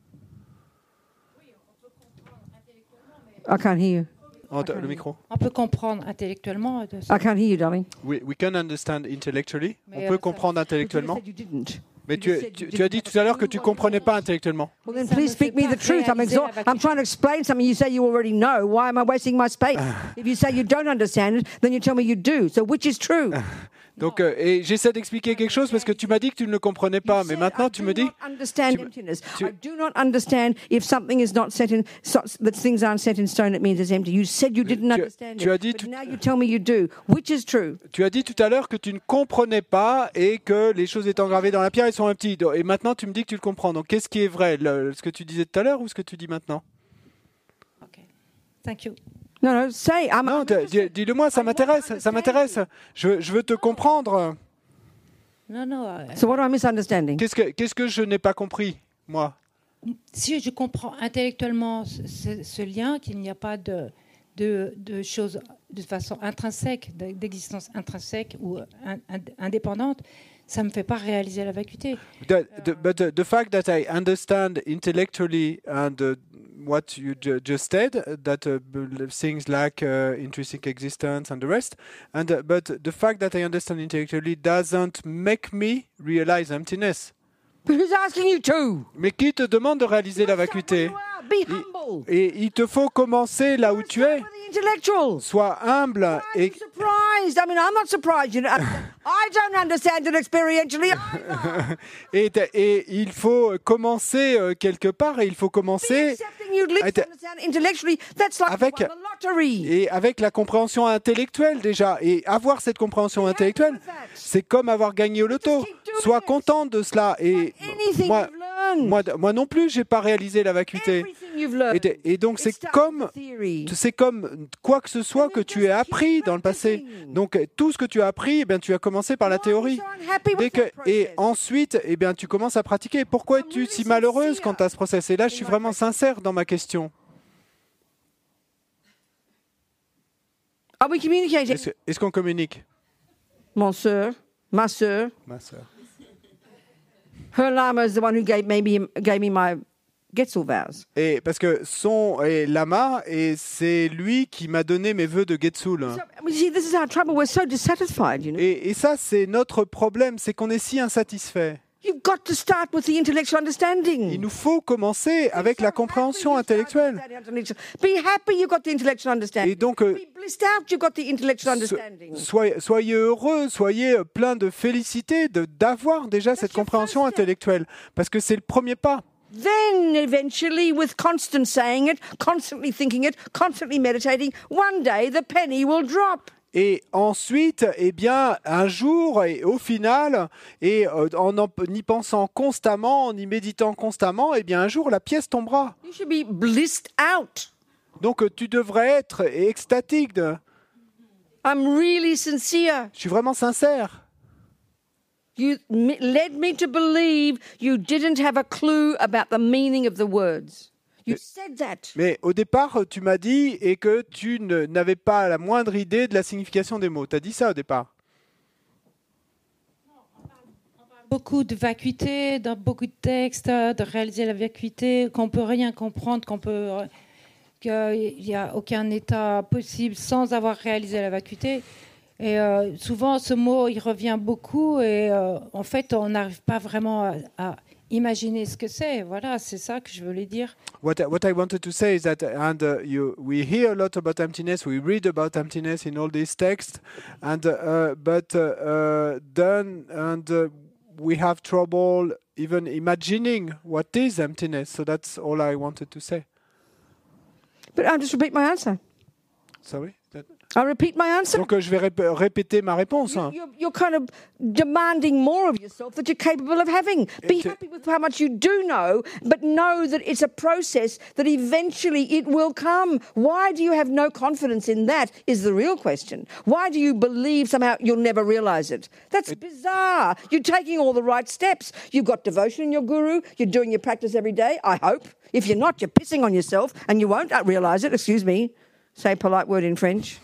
I can't hear you. Le micro. On peut comprendre intellectuellement. I can't hear you, darling. We can understand intellectually. Mais, On peut ça- comprendre intellectuellement. But you said you didn't. Mais You tu just said you as dit didn't. tout à l'heure que tu comprenais pas intellectuellement. Well, then Ça please me speak fait me pas the truth. réaliser la I'm trying to explain something you say you already know. Why am I wasting my space? If you say you don't understand it, then you tell me you do. So which is true? Donc, et j'essaie d'expliquer quelque chose parce que tu m'as dit que tu ne le comprenais pas, mais maintenant tu me dis. I do not understand tu- emptiness. tu- I do not understand if something is not set in, that things aren't set in stone, it means it's empty. You said you didn't understand tu as it, dit but tout- now you tell me you do. Which is true? Tu as dit tout à l'heure que tu ne comprenais pas et que les choses étant gravées dans la pierre, elles sont petites. Et maintenant, tu me dis que tu le comprends. Donc, qu'est-ce qui est vrai, ce que tu disais tout à l'heure ou ce que tu dis maintenant? Ok. Thank you. No, say. Non, dis-le-moi, ça m'intéresse. Ça m'intéresse. Je veux te comprendre. Non, non. So what am I misunderstanding? Qu'est-ce que je n'ai pas compris, moi? Si je comprends intellectuellement ce lien, qu'il n'y a pas de choses de façon intrinsèque, d'existence intrinsèque ou indépendante, ça ne me fait pas réaliser la vacuité. But the fact that I understand intellectually and what you just said, that things like intrinsic existence and the rest, but the fact that I understand intellectually doesn't make me realize emptiness. But who's asking you to? Mais qui te demande de réaliser la vacuité? Be humble. Et il te faut commencer là où tu es. For the intellectuals. Sois humble Why are you et surprised? I mean, I'm not surprised. You know, I don't understand it experientially either. et il faut commencer quelque part, et il faut Be commencer accepting you'd least understand intellectually. That's like avec- you won the lottery. et avec la compréhension intellectuelle déjà. Et avoir cette compréhension intellectuelle, c'est comme avoir gagné au loto. Sois content de cela. Et Anything moi, you've learned. moi non plus, j'ai pas réalisé la vacuité. Everything you've learned. Et donc It starts c'est with theory. comme quoi que ce soit que tu aies appris dans le passé. Donc tout ce que tu as appris, eh bien, tu as commencé par la théorie. Et ensuite, eh bien, tu commences à pratiquer. Pourquoi es-tu si malheureuse quant à ce process? Et là, je suis vraiment sincère dans ma question. Are we communicating? Est-ce qu'on communique? Mon sœur, ma sœur, Ma sœur. her lama is the one who gave me my Getzel vows. Et parce que son lama, et c'est lui qui m'a donné mes vœux de Getsul. So, you see, this is our trouble. We're so dissatisfied, you know. Et ça, c'est notre problème, c'est qu'on est si insatisfait. You've got to start with the intellectual understanding. Il nous faut commencer avec la compréhension intellectuelle. Be happy you've got the intellectual understanding. Et donc, Be blissed out you've got the intellectual understanding. soyez heureux, soyez plein de félicité d'avoir déjà cette compréhension intellectuelle, parce que c'est le premier pas. Then, eventually, with constant saying it, constantly thinking it, constantly meditating, one day the penny will drop. Et ensuite, eh bien, un jour, et au final, et en y pensant constamment, en y méditant constamment, eh bien, un jour, la pièce tombera. You should be blissed out. Donc, tu devrais être extatique. I'm really sincere. Je suis vraiment sincère. You led me to believe you didn't have a clue about the meaning of the words. You said that. Mais au départ, tu m'as dit et que tu n'avais pas la moindre idée de la signification des mots. Tu as dit ça au départ. Beaucoup de vacuité dans beaucoup de textes, de réaliser la vacuité, qu'on peut rien comprendre, qu'il n'y a aucun état possible sans avoir réalisé la vacuité. Et souvent, ce mot, il revient beaucoup et en fait, on n'arrive pas vraiment à imaginer ce que c'est. Voilà, c'est ça que je voulais dire. What I wanted to say is that, and we hear a lot about emptiness, we read about emptiness in all these texts, and we have trouble even imagining what is emptiness. So that's all I wanted to say. But I'll just repeat my answer. Sorry. I'll repeat my answer. Donc je vais répéter ma réponse. Hein. You're kind of demanding more of yourself that you're capable of having. Be happy with how much you do know, but know that it's a process that eventually it will come. Why do you have no confidence in that is the real question. Why do you believe somehow you'll never realize it? That's bizarre. You're taking all the right steps. You've got devotion in your guru. You're doing your practice every day, I hope. If you're not, you're pissing on yourself and you won't realize it. Excuse me. Say a polite word in French.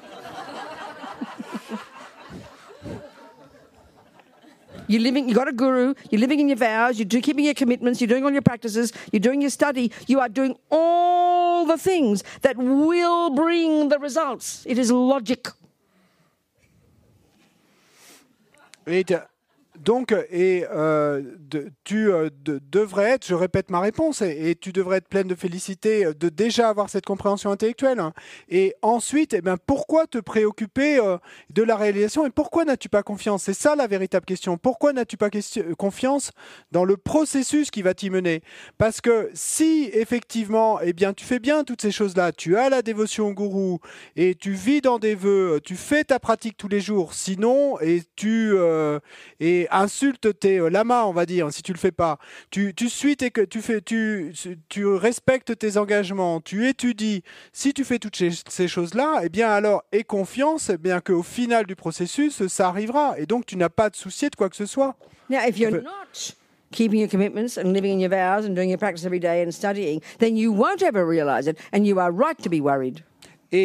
You got a guru, you're living in your vows, you're keeping your commitments, you're doing all your practices, you're doing your study, you are doing all the things that will bring the results. It is logic. Tu devrais être, je répète ma réponse, et tu devrais être pleine de félicité de déjà avoir cette compréhension intellectuelle. Et ensuite, eh ben, pourquoi te préoccuper de la réalisation et pourquoi n'as-tu pas confiance? C'est ça la véritable question. Pourquoi n'as-tu pas confiance dans le processus qui va t'y mener? Parce que si effectivement, eh bien, tu fais bien toutes ces choses-là, tu as la dévotion au gourou et tu vis dans des vœux, tu fais ta pratique tous les jours, sinon, et tu insulte tes lamas, on va dire, si tu le fais pas. Tu suis tu respectes tes engagements, tu étudies. Si tu fais toutes ces choses-là, eh bien alors aie confiance, eh bien qu'au final du processus, ça arrivera. Et donc tu n'as pas de souci de quoi que ce soit. Now, if you're not keeping your commitments and living in your vows and doing your practice every day and studying, then you won't ever realize it, and you are right to be worried. Et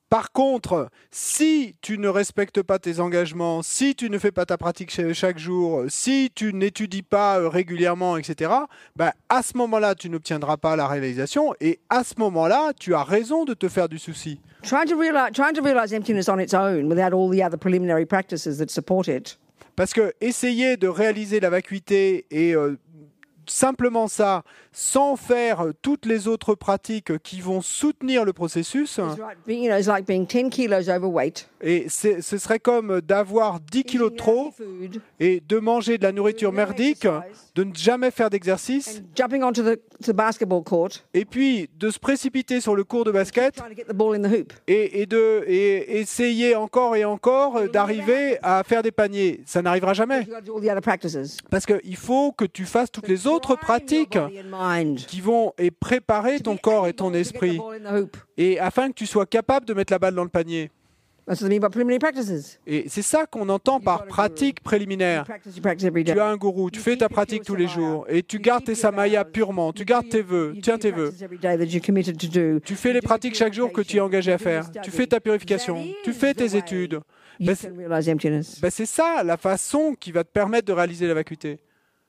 Par contre, si tu ne respectes pas tes engagements, si tu ne fais pas ta pratique chaque jour, si tu n'étudies pas régulièrement, etc., ben, à ce moment-là, tu n'obtiendras pas la réalisation et à ce moment-là, tu as raison de te faire du souci. Trying to realize emptiness on its own without all the other preliminary practices that support it. Parce que essayer de réaliser la vacuité et simplement ça, sans faire toutes les autres pratiques qui vont soutenir le processus, It's like being 10 kilos overweight. et ce serait comme d'avoir 10 kilos de trop Food, et de manger de la nourriture merdique, de ne jamais faire d'exercice, jumping onto the basketball court, et puis de se précipiter sur le court de basket trying to get the ball in the hoop. et essayer encore et encore d'arriver à faire des paniers. Ça n'arrivera jamais. You've got to do all the other practices. Parce qu'il faut que tu fasses toutes les autres pratiques Prime your body and mind qui vont préparer ton corps et ton to get the esprit, ball in the hoop. et afin que tu sois capable de mettre la balle dans le panier. That's what I mean by preliminary practices. Et c'est ça qu'on entend par pratique préliminaire. You practice every day. Tu as un gourou, tu fais ta pratique tous les jours, et tu gardes tes samayas purement, tu gardes tes vœux, tiens tes vœux. Tu fais les pratiques chaque jour que tu es engagé à faire. Tu fais ta purification, tu fais tes études. You can realize emptiness. Ben, c'est ça la façon qui va te permettre de réaliser la vacuité.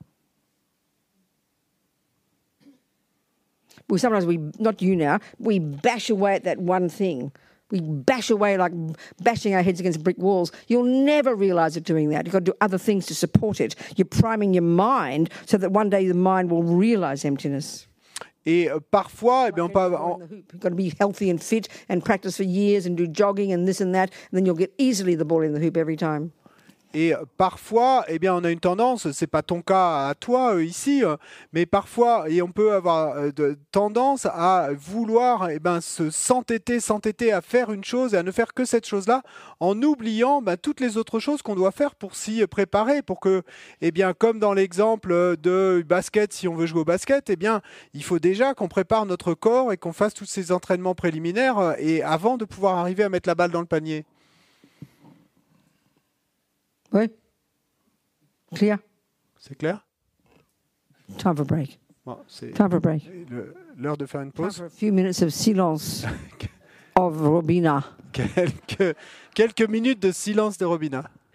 Well, sometimes not you now, we bash away at that one thing. We bash away like bashing our heads against brick walls. You'll never realize it doing that. You've got to do other things to support it. You're priming your mind so that one day the mind will realize emptiness. Et parfois, eh bien, You've got to be healthy and fit and practice for years and do jogging and this and that, and then you'll get easily the ball in the hoop every time. Et parfois, eh bien, on a une tendance, c'est pas ton cas à toi ici, mais parfois, et on peut avoir tendance à vouloir s'entêter à faire une chose et à ne faire que cette chose-là, en oubliant toutes les autres choses qu'on doit faire pour s'y préparer, pour que, eh bien, comme dans l'exemple de basket, si on veut jouer au basket, eh bien, il faut déjà qu'on prépare notre corps et qu'on fasse tous ces entraînements préliminaires et avant de pouvoir arriver à mettre la balle dans le panier. Oui? Clear? C'est clair? Time for a break. Bon, c'est Time for a break. l'heure de faire une Time pause. for a few minutes of silence of Robina. Quelques minutes de silence de Robina.